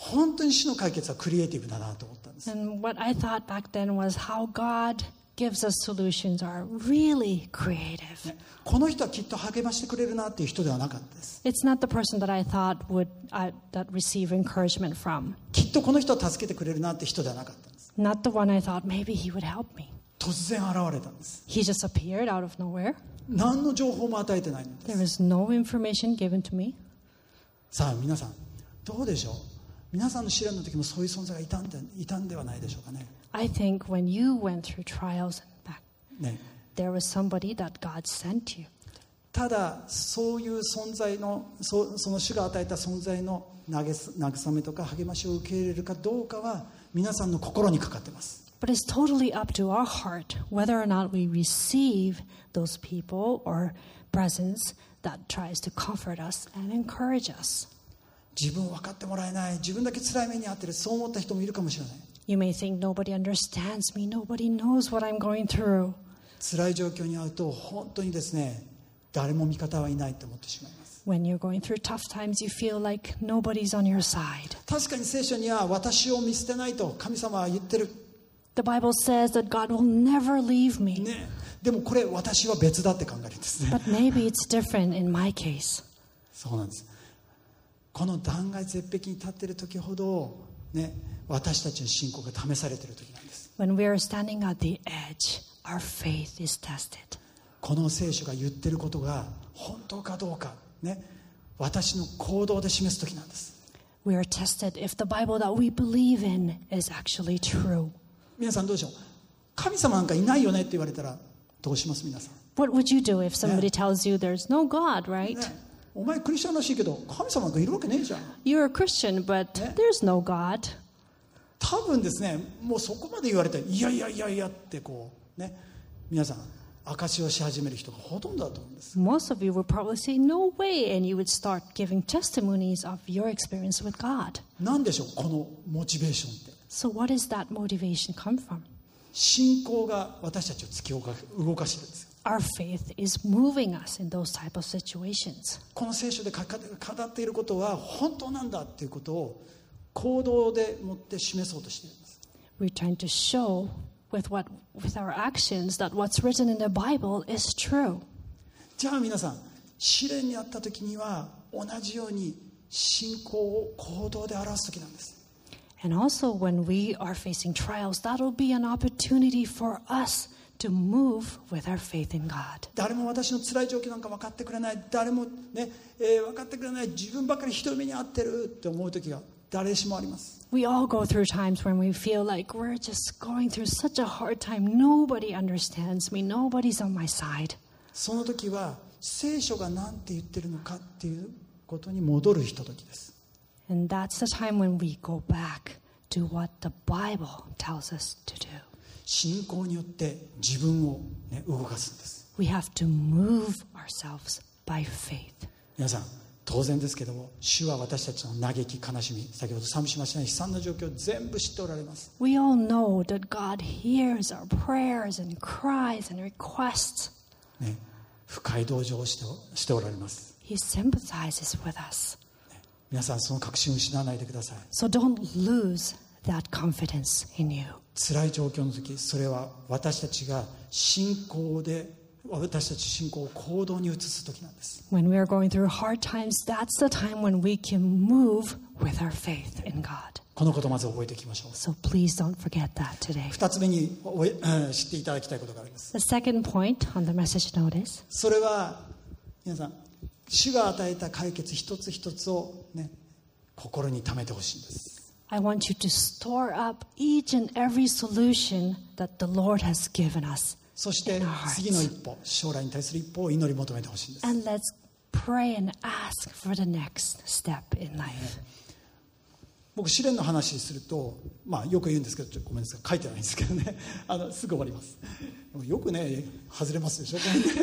本当に主の解決はクリエイティブだなと思ったんです。 And what I thought back then was how God gives us solutions are really creative. ね、この人はきっと励ましてくれるなっていう人ではなかったです。 It's not the person that I thought would uh, that receive encouragement from. きっとこの人は助けてくれるなって人ではなかったんです。 Not the one I thought maybe he would help me. 突然現れたんです。 He just appeared out of nowhere. 何の情報も与えてないので There す。 was no information given to me. さあ皆さんどうでしょう。皆さんの試練の時もそういう存在がいたんで、いたんではないでしょうかね。 I think when you went through trials and back, ね、 there was somebody that God sent you. ただそういう存在の そ, その主が与えた存在の慰めとか励ましを受け入れるかどうかは皆さんの心にかかっています。 But it's totally up to our heart whether or not we receive those people or presence that tries to comfort us and encourage us. 自分分かってもらえない、自分だけ辛い目に遭ってる、そう思った人もいるかもしれない。 You may think nobody understands me, nobody knows what I'm going through. 辛い状況に遭うと本当にですね、誰も味方はいないと思ってしまいます。 When you're going through tough times, you feel like nobody's on your side. 確かに聖書には私を見捨てないと神様は言ってる、 The Bible says that God will never leave me. ね、でもこれ私は別だって考えるんですね。 But maybe it's different in my case. そうなんです。この断崖絶壁に立っている時ほど、ね、私たちの信仰が試されている時なんです。 When we are standing at the edge, our faith is tested. この聖書が言っていることが本当かどうか、ね、私の行動で示す時なんです。 We are tested if the Bible that we believe in is actually true. 皆さんどうでしょう。神様なんかいないよねって言われたらどうします皆さん。 What would you do if somebody tells you there's no God, right? ね、お前クリスチャンらしいけど神様なんかいるわけねえじゃん。 You're a Christian, but there's no God. 多分ですね、もうそこまで言われていやいやいやいやってこうね、皆さん証しをし始める人がほとんどだと思うんです。 Most of you would probably say no way, and you would start giving testimonies of your experience with God. なんでしょうこのモチベーションって。 So what does that motivation come from? 信仰が私たちを突き動か動かしてるんですよ。 Our faith is moving us in those type of situations. この聖書で語っていることは本当なんだっていうことを行動でもって示そうとしているんです。 We're trying to show with what with our actions that what's written in the Bible is true. じゃあ皆さん試練にあった時には同じように信仰を行動で表す時なんです。 And also when we are facing trials, that'll be an opportunity for us to move with our faith in God. 誰も私の辛い状況なんか分かってくれない、誰もね、えー、分かってくれない、自分ばかりひどい目に遭ってるって思う時が誰しもあります。 We all go through times when we feel like we're just going through such a hard time. Nobody understands me. Nobody's on my side. その時は聖書が何て言ってるのかっていうことに戻るひとときです。 And that's the time when we go back to what the Bible tells us to do. 信仰によって自分を、ね、動かすんです。 We have to move ourselves by faith. 皆さん当然ですけども、主は私たちの嘆き悲しみ、先ほど賛美しましたね、悲惨な状況を全部知っておられます。 We all know that God hears our prayers and cries and requests. ね、深い同情をしてしておられます。 He sympathizes with us. 皆さんその確信を失わないでください。 So don't lose that confidence in you. 辛い状況の時、それは私たちが信仰で私たち信仰を行動に移す時なんです。 When we are going through hard times, that's the time when we can move with our faith in God. このことをまず覚えていきましょう。 So please don't forget that today. 二つ目におえ知っていただきたいことがあります。 The second point on the message notice. それは皆さん、主が与えた解決一つ一つをね、心に留めてほしいんです。 I want you to store up each and every solution that the Lord has given us. そして次の一歩、将来に対する一歩を祈り求めてほしいんです。 And let's pray and ask for the next step in life. 僕試練の話すると、まあ、よく言うんですけど、ちょっとごめんなさい、書いてないんですけどね、あのすぐ終わります。よくね外れますでしょ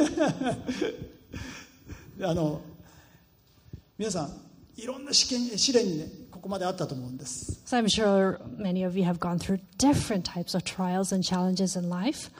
あの皆さんいろんな試験試練にねここまであったと思うんです。 So I'm sure many of you have gone through different types of trials and challenges in life.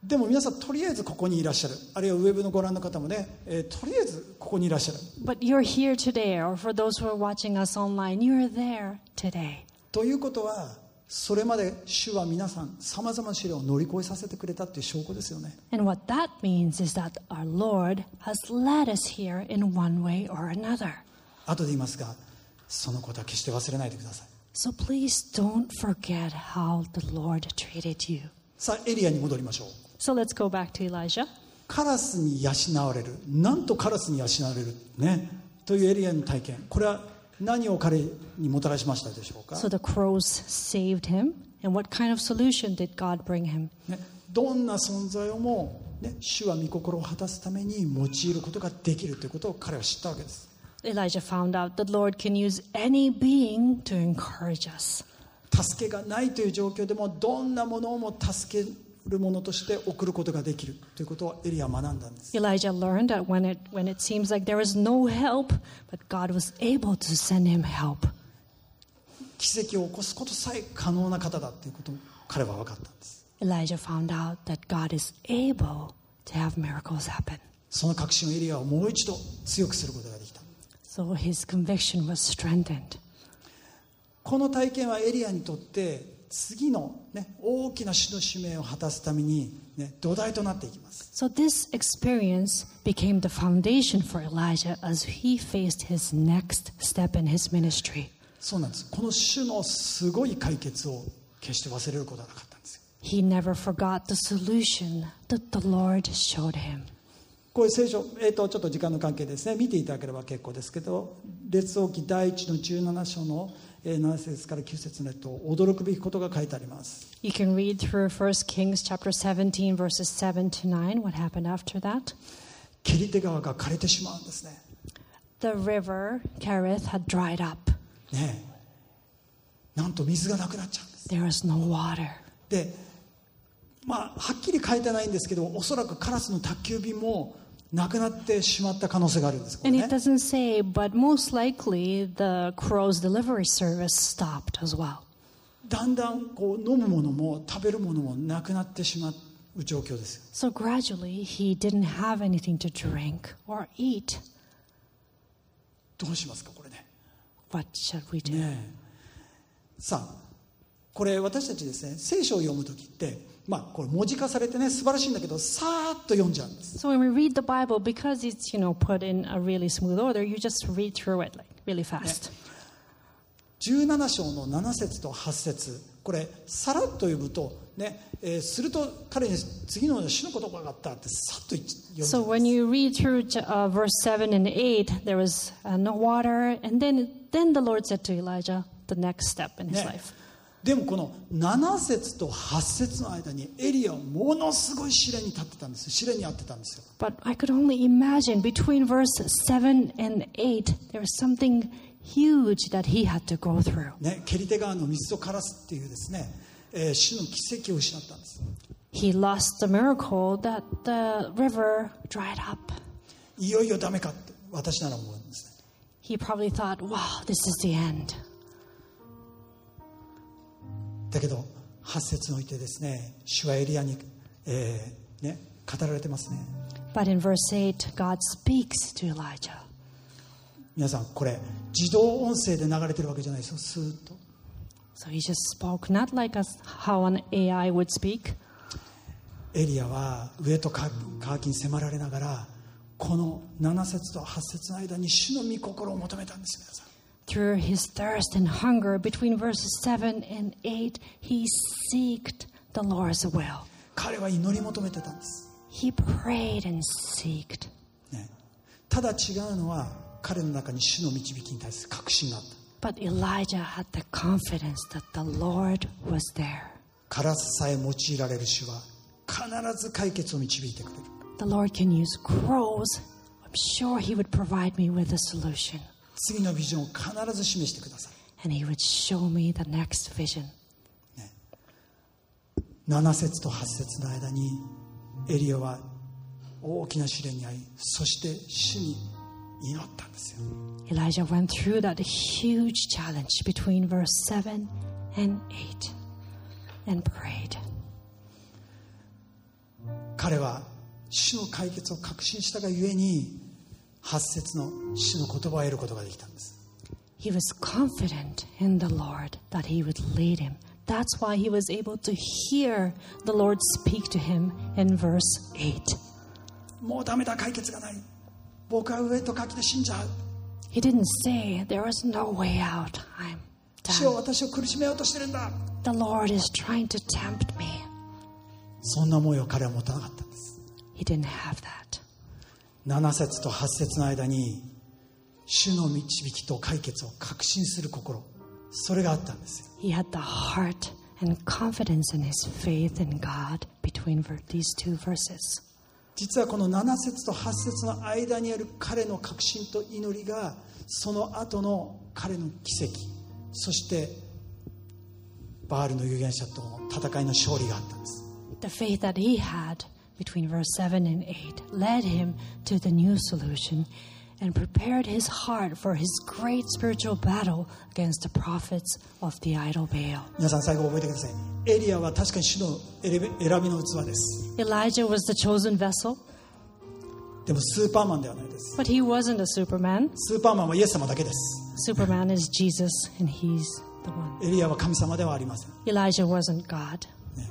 でも皆さんとりあえずここにいらっしゃる、あるいはウェブのご覧の方もね、えー、とりあえずここにいらっしゃる。 But you're here today, or for those who are watching us online, you're there today. ということはそれまで主は皆さんさまざまな試練を乗り越えさせてくれたという証拠ですよね。 And what that means is that our Lord has led us here in one way or another. 後で言いますがそのことは決して忘れないでください。 So please don't forget how the Lord treated you. さあエリアに戻りましょう。 So let's go back to Elijah. カラスに養われる、なんとカラスに養われる、ね、というエリアの体験、これは何を彼にもたらしましたでしょうか。 So the crows saved him. And what kind of solution did God bring him? ね、どんな存在をも、ね、主は御心を果たすために用いることができるということを彼は知ったわけです。 Elijah found out that the Lord can use any being to encourage us. 助けがないという状況でもどんなものをも助けるものとして送ることができるということをエリアは学んだんです。 Elijah learned that when it, when it seems like there is no help, but God was able to send him help. 奇跡を起こすことさえ可能な方だということを彼は分かったんです。 Elijah found out that God is able to have miracles happen. その確信をエリアはもう一度強くすることができた。 So his conviction was strengthened. この体験はエリアにとって次の、ね、大きな主の使命を果たすために、ね、土台となっていきます。 So this experience became the foundation for Elijah as he faced his next step in his ministry. そうなんです。この主のすごい解決を決して忘れることはなかったんですよ。 He never forgot the solution that the Lord showed him. こういう聖書、えーと、ちょっと時間の関係ですね、見ていただければ結構ですけど、列王記第一のじゅうなな章のなな節からきゅう節のと驚くべきことが書いてあります。 You can read through First Kings chapter seventeen, verses seven to nine. What happened after that? ケリテ川が枯れてしまうんですね。 The river Kerith had dried up. ねえ、なんと水がなくなっちゃうんです。 There was no water. で、まあはっきり書いてないんですけど、おそらくカラスの宅急便もなくなってしまった可能性があるんです。これ And ね it doesn't say, but most likely the crow's delivery service stopped as well. だんだんこう飲むものも食べるものもなくなってしまう状況ですよ。 So gradually he didn't have anything to drink or eat. どうしますかこれね。 What should we do? ねえ、さあこれ私たちですね、聖書を読むときってまあこれ文字化されてね素晴らしいんだけどさーっと読んじゃうんです。 So when we read the Bible, because it's, you know, put in a really smooth order, you just read through it like really fast. じゅうなな章のなな節とはち節、これさらっと読むとね、えー、すると彼に次の主の言葉があったってさっと読んじゃ So うんで when す。 you read through uh, verse seven and eight, there was uh, no water, and then then the Lord said to Elijah the next step in his ね life. でもこのなな節とはち節の間にエリアはものすごい試練に立ってたんです。試練にあってたんですよ。 But I could only imagine between verse seven and eight, there was something huge that he had to go through. ね、ケリテ川の水とカラスっていうですね、えー主の奇跡を失ったんです。 He lost the miracle that the river dried up. いよいよダメかって私なら思うんですね。 He probably thought, wow, this is the end. だけどはち節においてですね、主はエリアに、えーね、語られてますね。 But in verse eight, God speaks to Elijah. 皆さんこれ自動音声で流れてるわけじゃないですよ。スーッと So he just spoke, not like us, how an A I would speak. エリアは上と渇きに迫られながらこのなな節とはち節の間に主の御心を求めたんです。皆さん Through his thirst and hunger, between verses seven and eight, he seeked the Lord's will. 彼は祈り求めてたんです、 He prayed and seeked. ね、ただ違うのは彼の中に主の導きに対する確信があった。 But Elijah had the confidence that the Lord was there. カラスさえ用いられる主は必ず解決を導いてくれる。 The Lord can use crows. I'm sure he would provide me with a solution. 次のビジョンを必ず示してください。 And he would show me the next vision. なな節とはち節の間にエリアは大きな試練に遭い、そして主に祈ったんですよ。 Elijah went through that huge challenge between verse seven and eight and prayed. 彼は主の解決を確信したがゆえにはち節の主の言葉を得ることができたんです。 He was confident in the Lord that he would lead him. That's why he was able to hear the Lord speak to him in verse eight. もうダメだ、解決がない、僕は上と書きで死んじゃう。 He didn't say, there is no way out. I'm 主は done. 私を苦しめようとしてるんだ。 The Lord is trying to tempt me. そんな思いを彼は持たなかったんです。 He didn't have that. なな節とはち節の間に主の導きと解決を確信する心、それがあったんですよ。 He had the heart and confidence in his faith in God between ver- these two verses. 実はこのなな節とはち節の間にある彼の確信と祈りが、その後の彼の奇跡、そしてバールの預言者との戦いの勝利があったんです。 The faith that he had between verse seven and eight led him to the new solution and prepared his heart for his great spiritual battle against the prophets of the idol Baal. 皆さん最後覚えてください。エリアは確かに主の選び選びの器です。 Elijah was the chosen vessel, でもスーパーマンではないです。 but he wasn't a Superman. スーパーマンはイエス様だけです。 Superman is Jesus, and he's the one. エリアは神様ではありません。 Elijah wasn't God.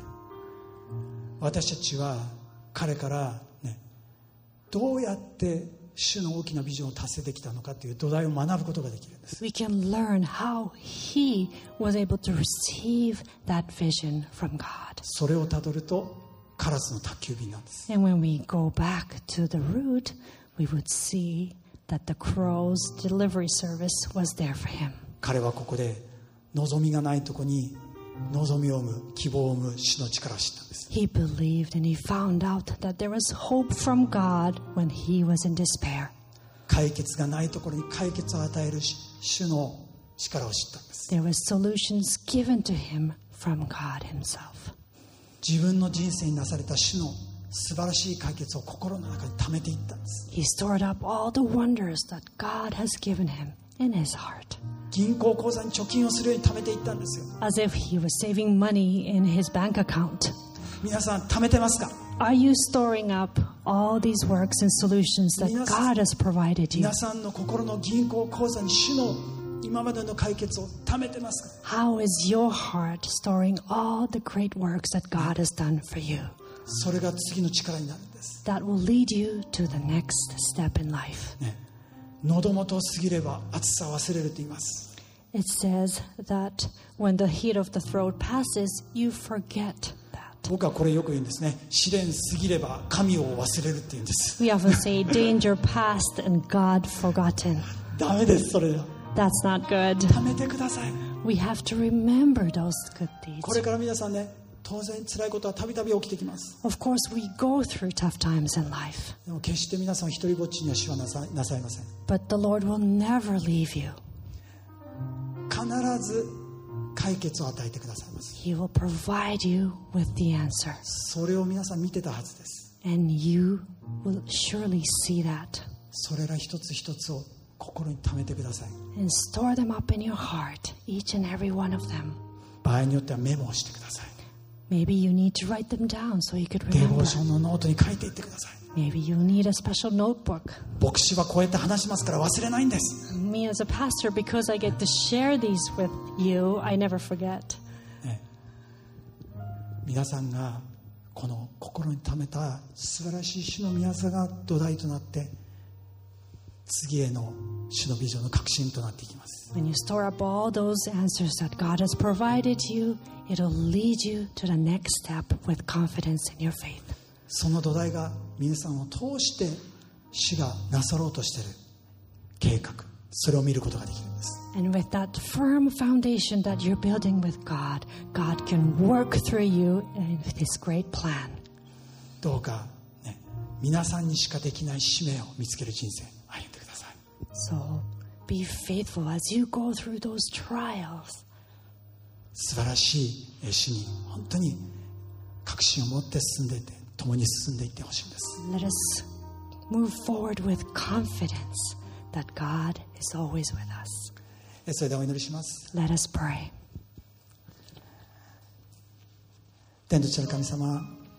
私たちは彼からね、どうやって主の大きなビジョンを達成できたのかという土台を学ぶことができるんです。 We can learn how he was able to receive that vision from God. それをたどるとカラスの宅急便なんです。 And when we go back to the root, we would see that the crow's delivery service was there for him. 彼はここで望みがないところに望みを生む、希望を生む主の力を知ったんです。 He believed and he found out that there was hope from God when he was in despair. 解決がないところに解決を与える主の力を知ったんです。 There was solutions given to him from God himself. 自分の人生になされた主の素晴らしい解決を心の中に溜めていったんです。 He stored up all the wonders that God has given him in his heart, 銀行口座に貯金をするように溜めていったんですよ。 as if he was saving money in his bank account. 皆さん貯めてますか？ Are you storing up all these works and solutions that 皆さん- God has provided you? 皆さんの心の銀行口座に主の今までの解決を貯めてますか？ How is your heart storing all the great works that God has done for you? それが次の力になるんです、 That will lead you to the next step in life. ね、喉元を過ぎれば暑さを忘れると言います。 It says that when the heat of the throat passes, you forget that. 僕はこれよく言うんですね。試練過ぎれば神を忘れるって言うんです。 We often say danger past and God forgotten. ダメです。それは That's not good. 貯めてください。 We have to remember those good これ deeds. から皆さんね、当然辛いことはたびたび起きてきます。 Of course, we go through tough times in life, でも決して皆さんを一人ぼっちには主はなさなさいません。 but the Lord will never leave you. 必ず解決を与えてくださいます。 He will provide you with the answer, それを皆さん見てたはずです。 and you will surely see that それら一つ一つを心に溜めてください。 and store them up in your heart, each and every one of them. 場合によってはメモをしてください。 Maybe you need to write them down so you could デボ remember. ーションのノートに書いていってください。 Maybe you need a special notebook. 牧師はこうやって話しますから忘れないんです、 Me as a pastor, because I get to share these with you, I never forget. ね、皆さんがこの心に溜めた素晴らしい主の御業が土台となって次への主のビジョンの核心となっていきます。 When you store up all those answers that God has provided you, it'll lead you to the next step with confidence in your faith. その土台が皆さんを通して主がなさろうとしている計画、それを見ることができるんです。 And with that firm foundation that you're building with God, God can work through you in His great plan. どうか、ね、皆さんにしかできない使命を見つける人生歩んでください。 So be faithful as you go through those trials. 素晴らしい主に本当に確信を持って進んでいって共に進んでいってほしいんです。 Let us move forward with confidence that God is always with us. それではお祈りします。 Let us pray. 天と地の神様、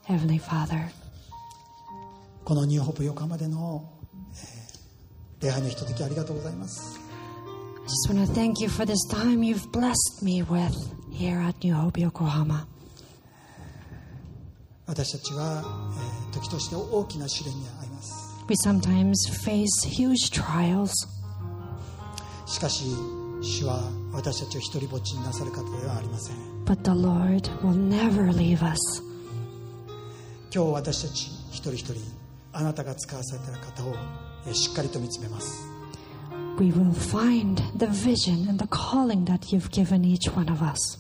Heavenly Father, このニューホープ横浜での、えー、礼拝のひとときありがとうございます。 I just want to thank you for this time you've blessed me with here at New Hope Yokohama. 私たちは、えー、時として大きな試練に遭います。 We sometimes face huge trials. しかし主は私たちを一人ぼっちになさる方ではありません。 But the Lord will never leave us. 今日私たち一人一人あなたが使わされている方を、えー、しっかりと見つめます。 We will find the vision and the calling that you've given each one of us.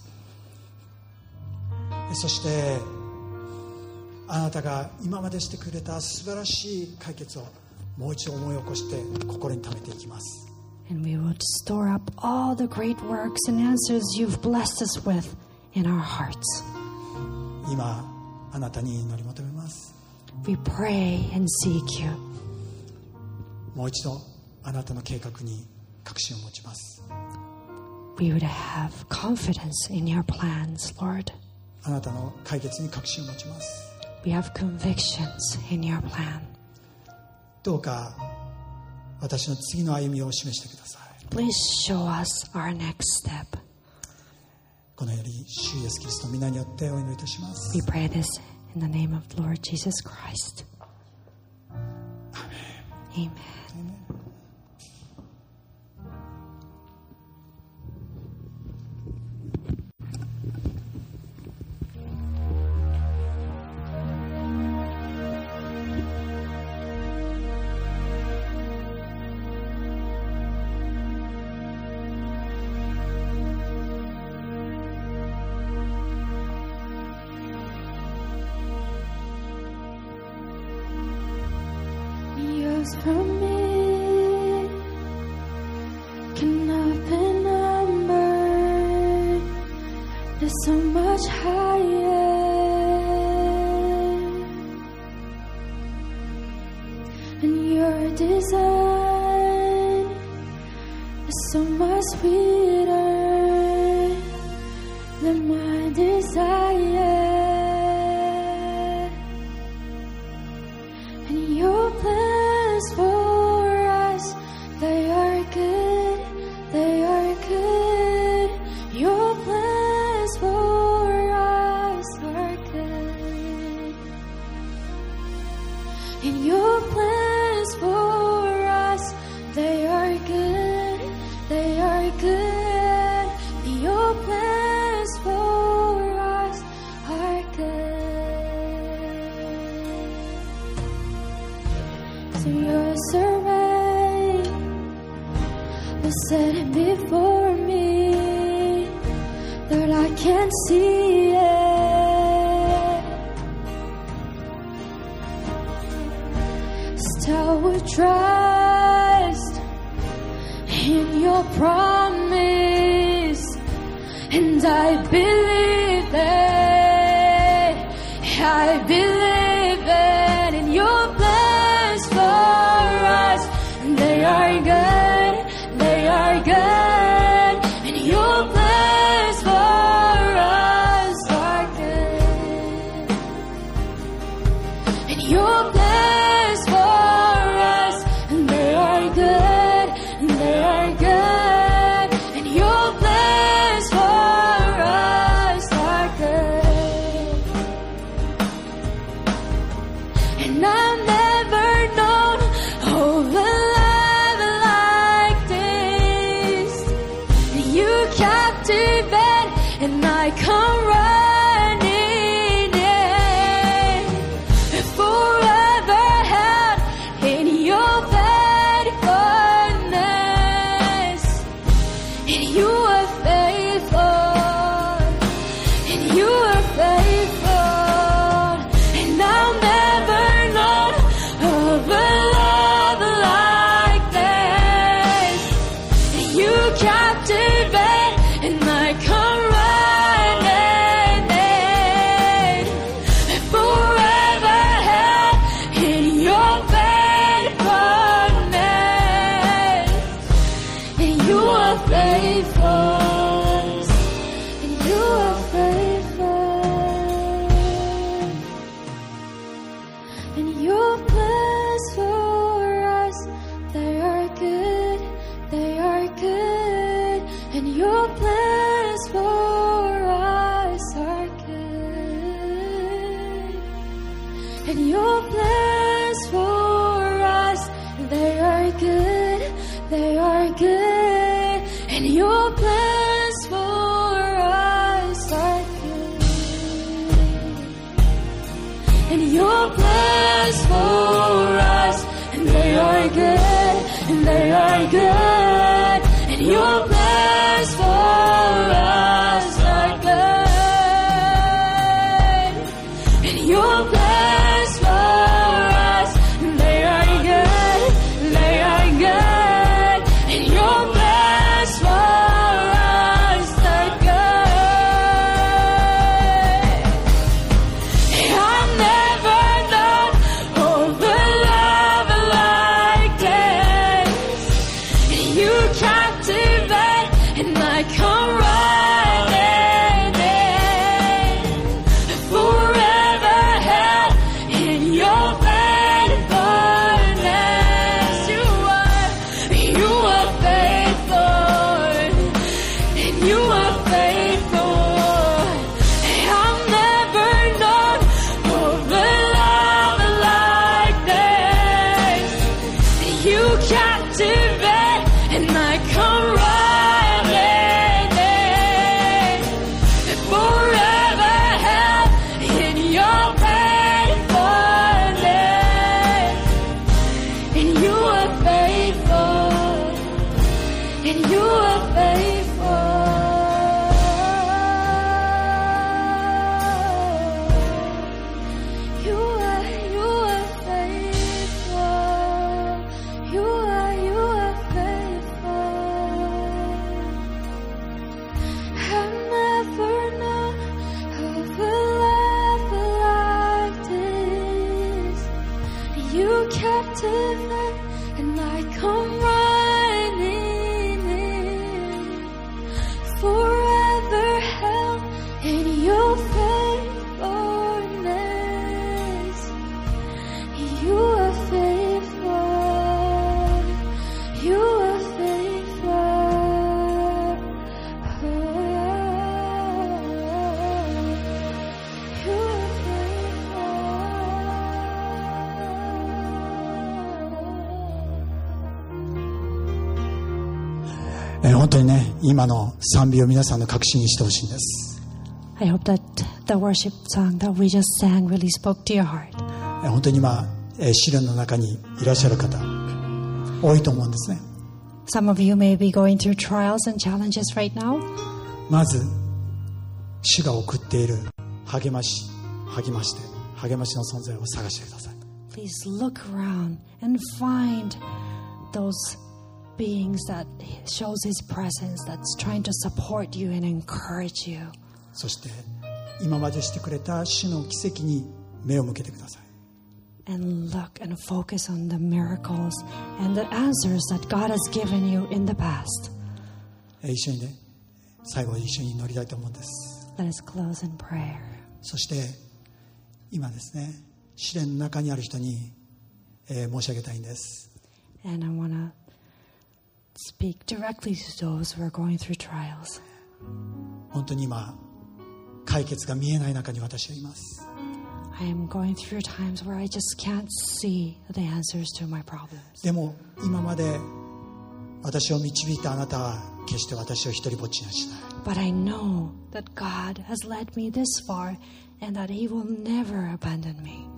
そしてあなたが今までしてくれた素晴らしい解決をもう一度思い起こして心に溜めていきます。 And we will store up all the great works and answers you've blessed us with in our hearts. 今あなたに祈り求めます。 We pray and seek you. もう一度あなたの計画に確信を持ちます。 We would have confidence in your plans, Lord. あなたの解決に確信を持ちます。 We have convictions in your plan. どうか私の次の歩みを示してください。 Please show us our next step. このより主イエスキリストの皆によってお祈りいたします。 We pray this in the name of Lord Jesus Christ. Amen. From me cannot be numbered. There's so much higher, and your design is so much sweeter than my desire, and your plan for us, they are good, they are good. Your plans for us are good, and your plans for us, they are good, they are good. Your plans for us are good. So your survey was set before me, Lord, I can't see it. Still would trust in your promise, and I believe it, I believe it in your plans for us. They are good, they are good, and your plans for us are good, and your plans for us, and they are good, and they are good, and your plans for us are good, and I've never known of a love like this. You captivate, and I come running in, forever held in your faithfulness, and you are faithful, and you are faithful, and I'll never know and your plans for us, they are good, they are good, and your plans for us are good, and your plans for us, they are good, they are good, and your plans for us are good, and your plans for us, and they are good, and they are good, and your plans for us are good, and your plans for us, and they are good, they are good, and your plans for us are good. I've never known of a love like this. You captivate, and I come running in. Forever held in your faithfulness. You are, you are faithful, and you are faithful. I've never known of a love like this. You captivate, and I come running in. Forever held in your faithfulness, and you are faithful, and you are faithful. You are, you are faithful. You are, you are faithful. I've never known of a love like this. You captivate, and I come running in. Forever held in your faithfulness. You are faithful. You are faithful. Oh, you are faithful. えー本当にね、今の賛美を皆さんの確信にしてほしいんです。 I hope that the worship song that we just sang really spoke to your heart. えー本当に今、えー試練の中にいらっしゃる方多いと思うんですね。 Some of you may be going through trials and challenges right now. まず主が送っている励まし励まして励ましの存在を探してください。 Please look around and find those beings that shows His presence, that's trying to support you and encourage you. そして今までしてくれた主の奇跡に目を向けてください。 And look and focus on the miracles and the answers that God has given you in the past. えー一緒にね、最後一緒に祈りたいと思うんです。 Let us close in prayer. そして今ですね、試練の中にある人に、えー申し上げたいんです。 And I want to speak directly to those who are going through trials. 本当に今解決が見えない中に私はいます。 I am going through times where I just can't see the answers to my problems. でも今まで私を導いたあなたは決して私を一人ぼっちにはしない。 But I know that God has led me this far and that He will never abandon me.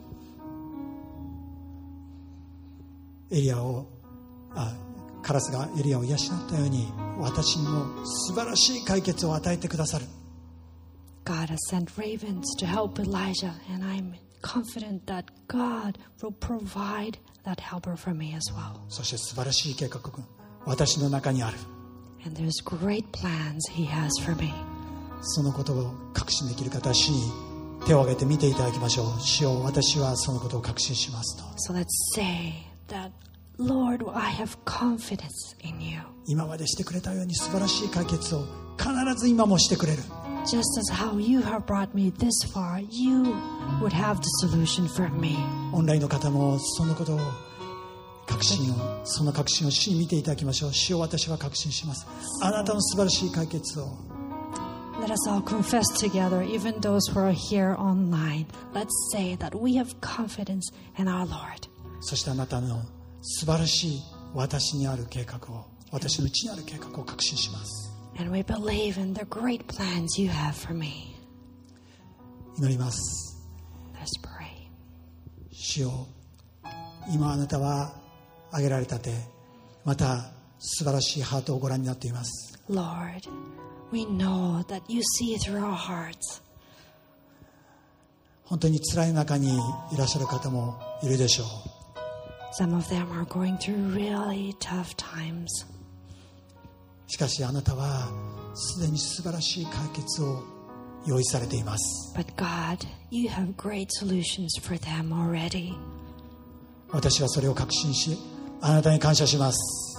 エリアをあカラスがエリアを養ったように私にも素晴らしい解決を与えてくださる。 God has sent ravens to help Elijah, and I'm confident that God will provide that helper for me as well. そして素晴らしい計画が私の中にある。 And there's great plans He has for me. そのことを確信できる方は主に手を挙げて見ていただきましょう。主よ、私はそのことを確信しますと。 So let's say that, Lord, I have confidence in you. 今までしてくれたように素晴らしい解決を必ず今もしてくれる。 Just as how you have brought me this far, you would have the solution for me. オンラインの方もそのことを確信をその確信を主に見ていただきましょう。主を私は確信します。あなたの素晴らしい解決を。 Let us all confess together, even those who are here online. Let's say that we have confidence in our Lord. そしてあなたの素晴らしい私にある計画を、私のうちにある計画を確信します。 And we believe in the great plans you have for me. 祈ります。 Let's pray. 主よ、今あなたは挙げられたて、また素晴らしいハートをご覧になっています。 Lord, we know that you see through our hearts. 本当に辛い中にいらっしゃる方もいるでしょう。 Some of them are going through really tough times. しかしあなたはすでに素晴らしい解決を用意されています。 But God, you have great solutions for them already. 私はそれを確信し、あなたに感謝します。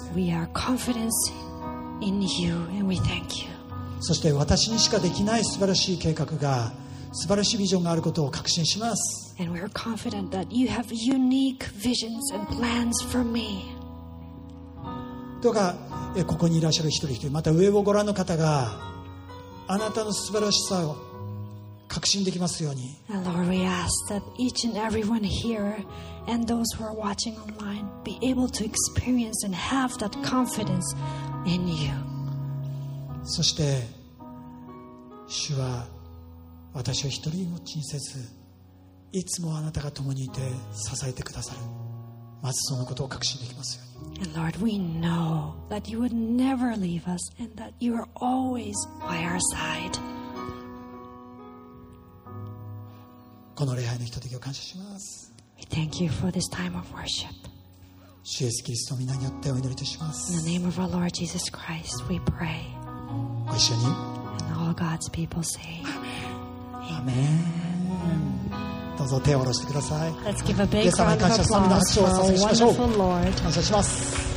We are confident in you and we thank you. そして私にしかできない素晴らしい計画が、素晴らしいビジョンがあることを確信します。 And we're confident that you have unique visions and plans for me. どうかえここにいらっしゃる一人一人、また上をご覧の方があなたの素晴らしさを確信できますように。 And Lord, we ask that each and everyone here and those who are watching online be able to experience and have that confidence in you. そして主は私を一人ぼっちにせず、いつもあなたが共にいて支えてくださる。まずそのことを確信できますように。 And Lord, we know that you would never leave us and that you are always by our side. この礼拝のひとときを感謝します。 We thank you for this time of worship. 主イエスキリストの皆によってお祈りいたしま In す。 the name of our Lord Jesus Christ, we pray. ご一緒に。 And all God's people say, アメン。どうぞ手を下ろしてください。 let's give a イエ big ス様に round 感 of 謝、賛美の applause 拍手 for をお捧 our げしましょう。 wonderful Lord. 感謝します。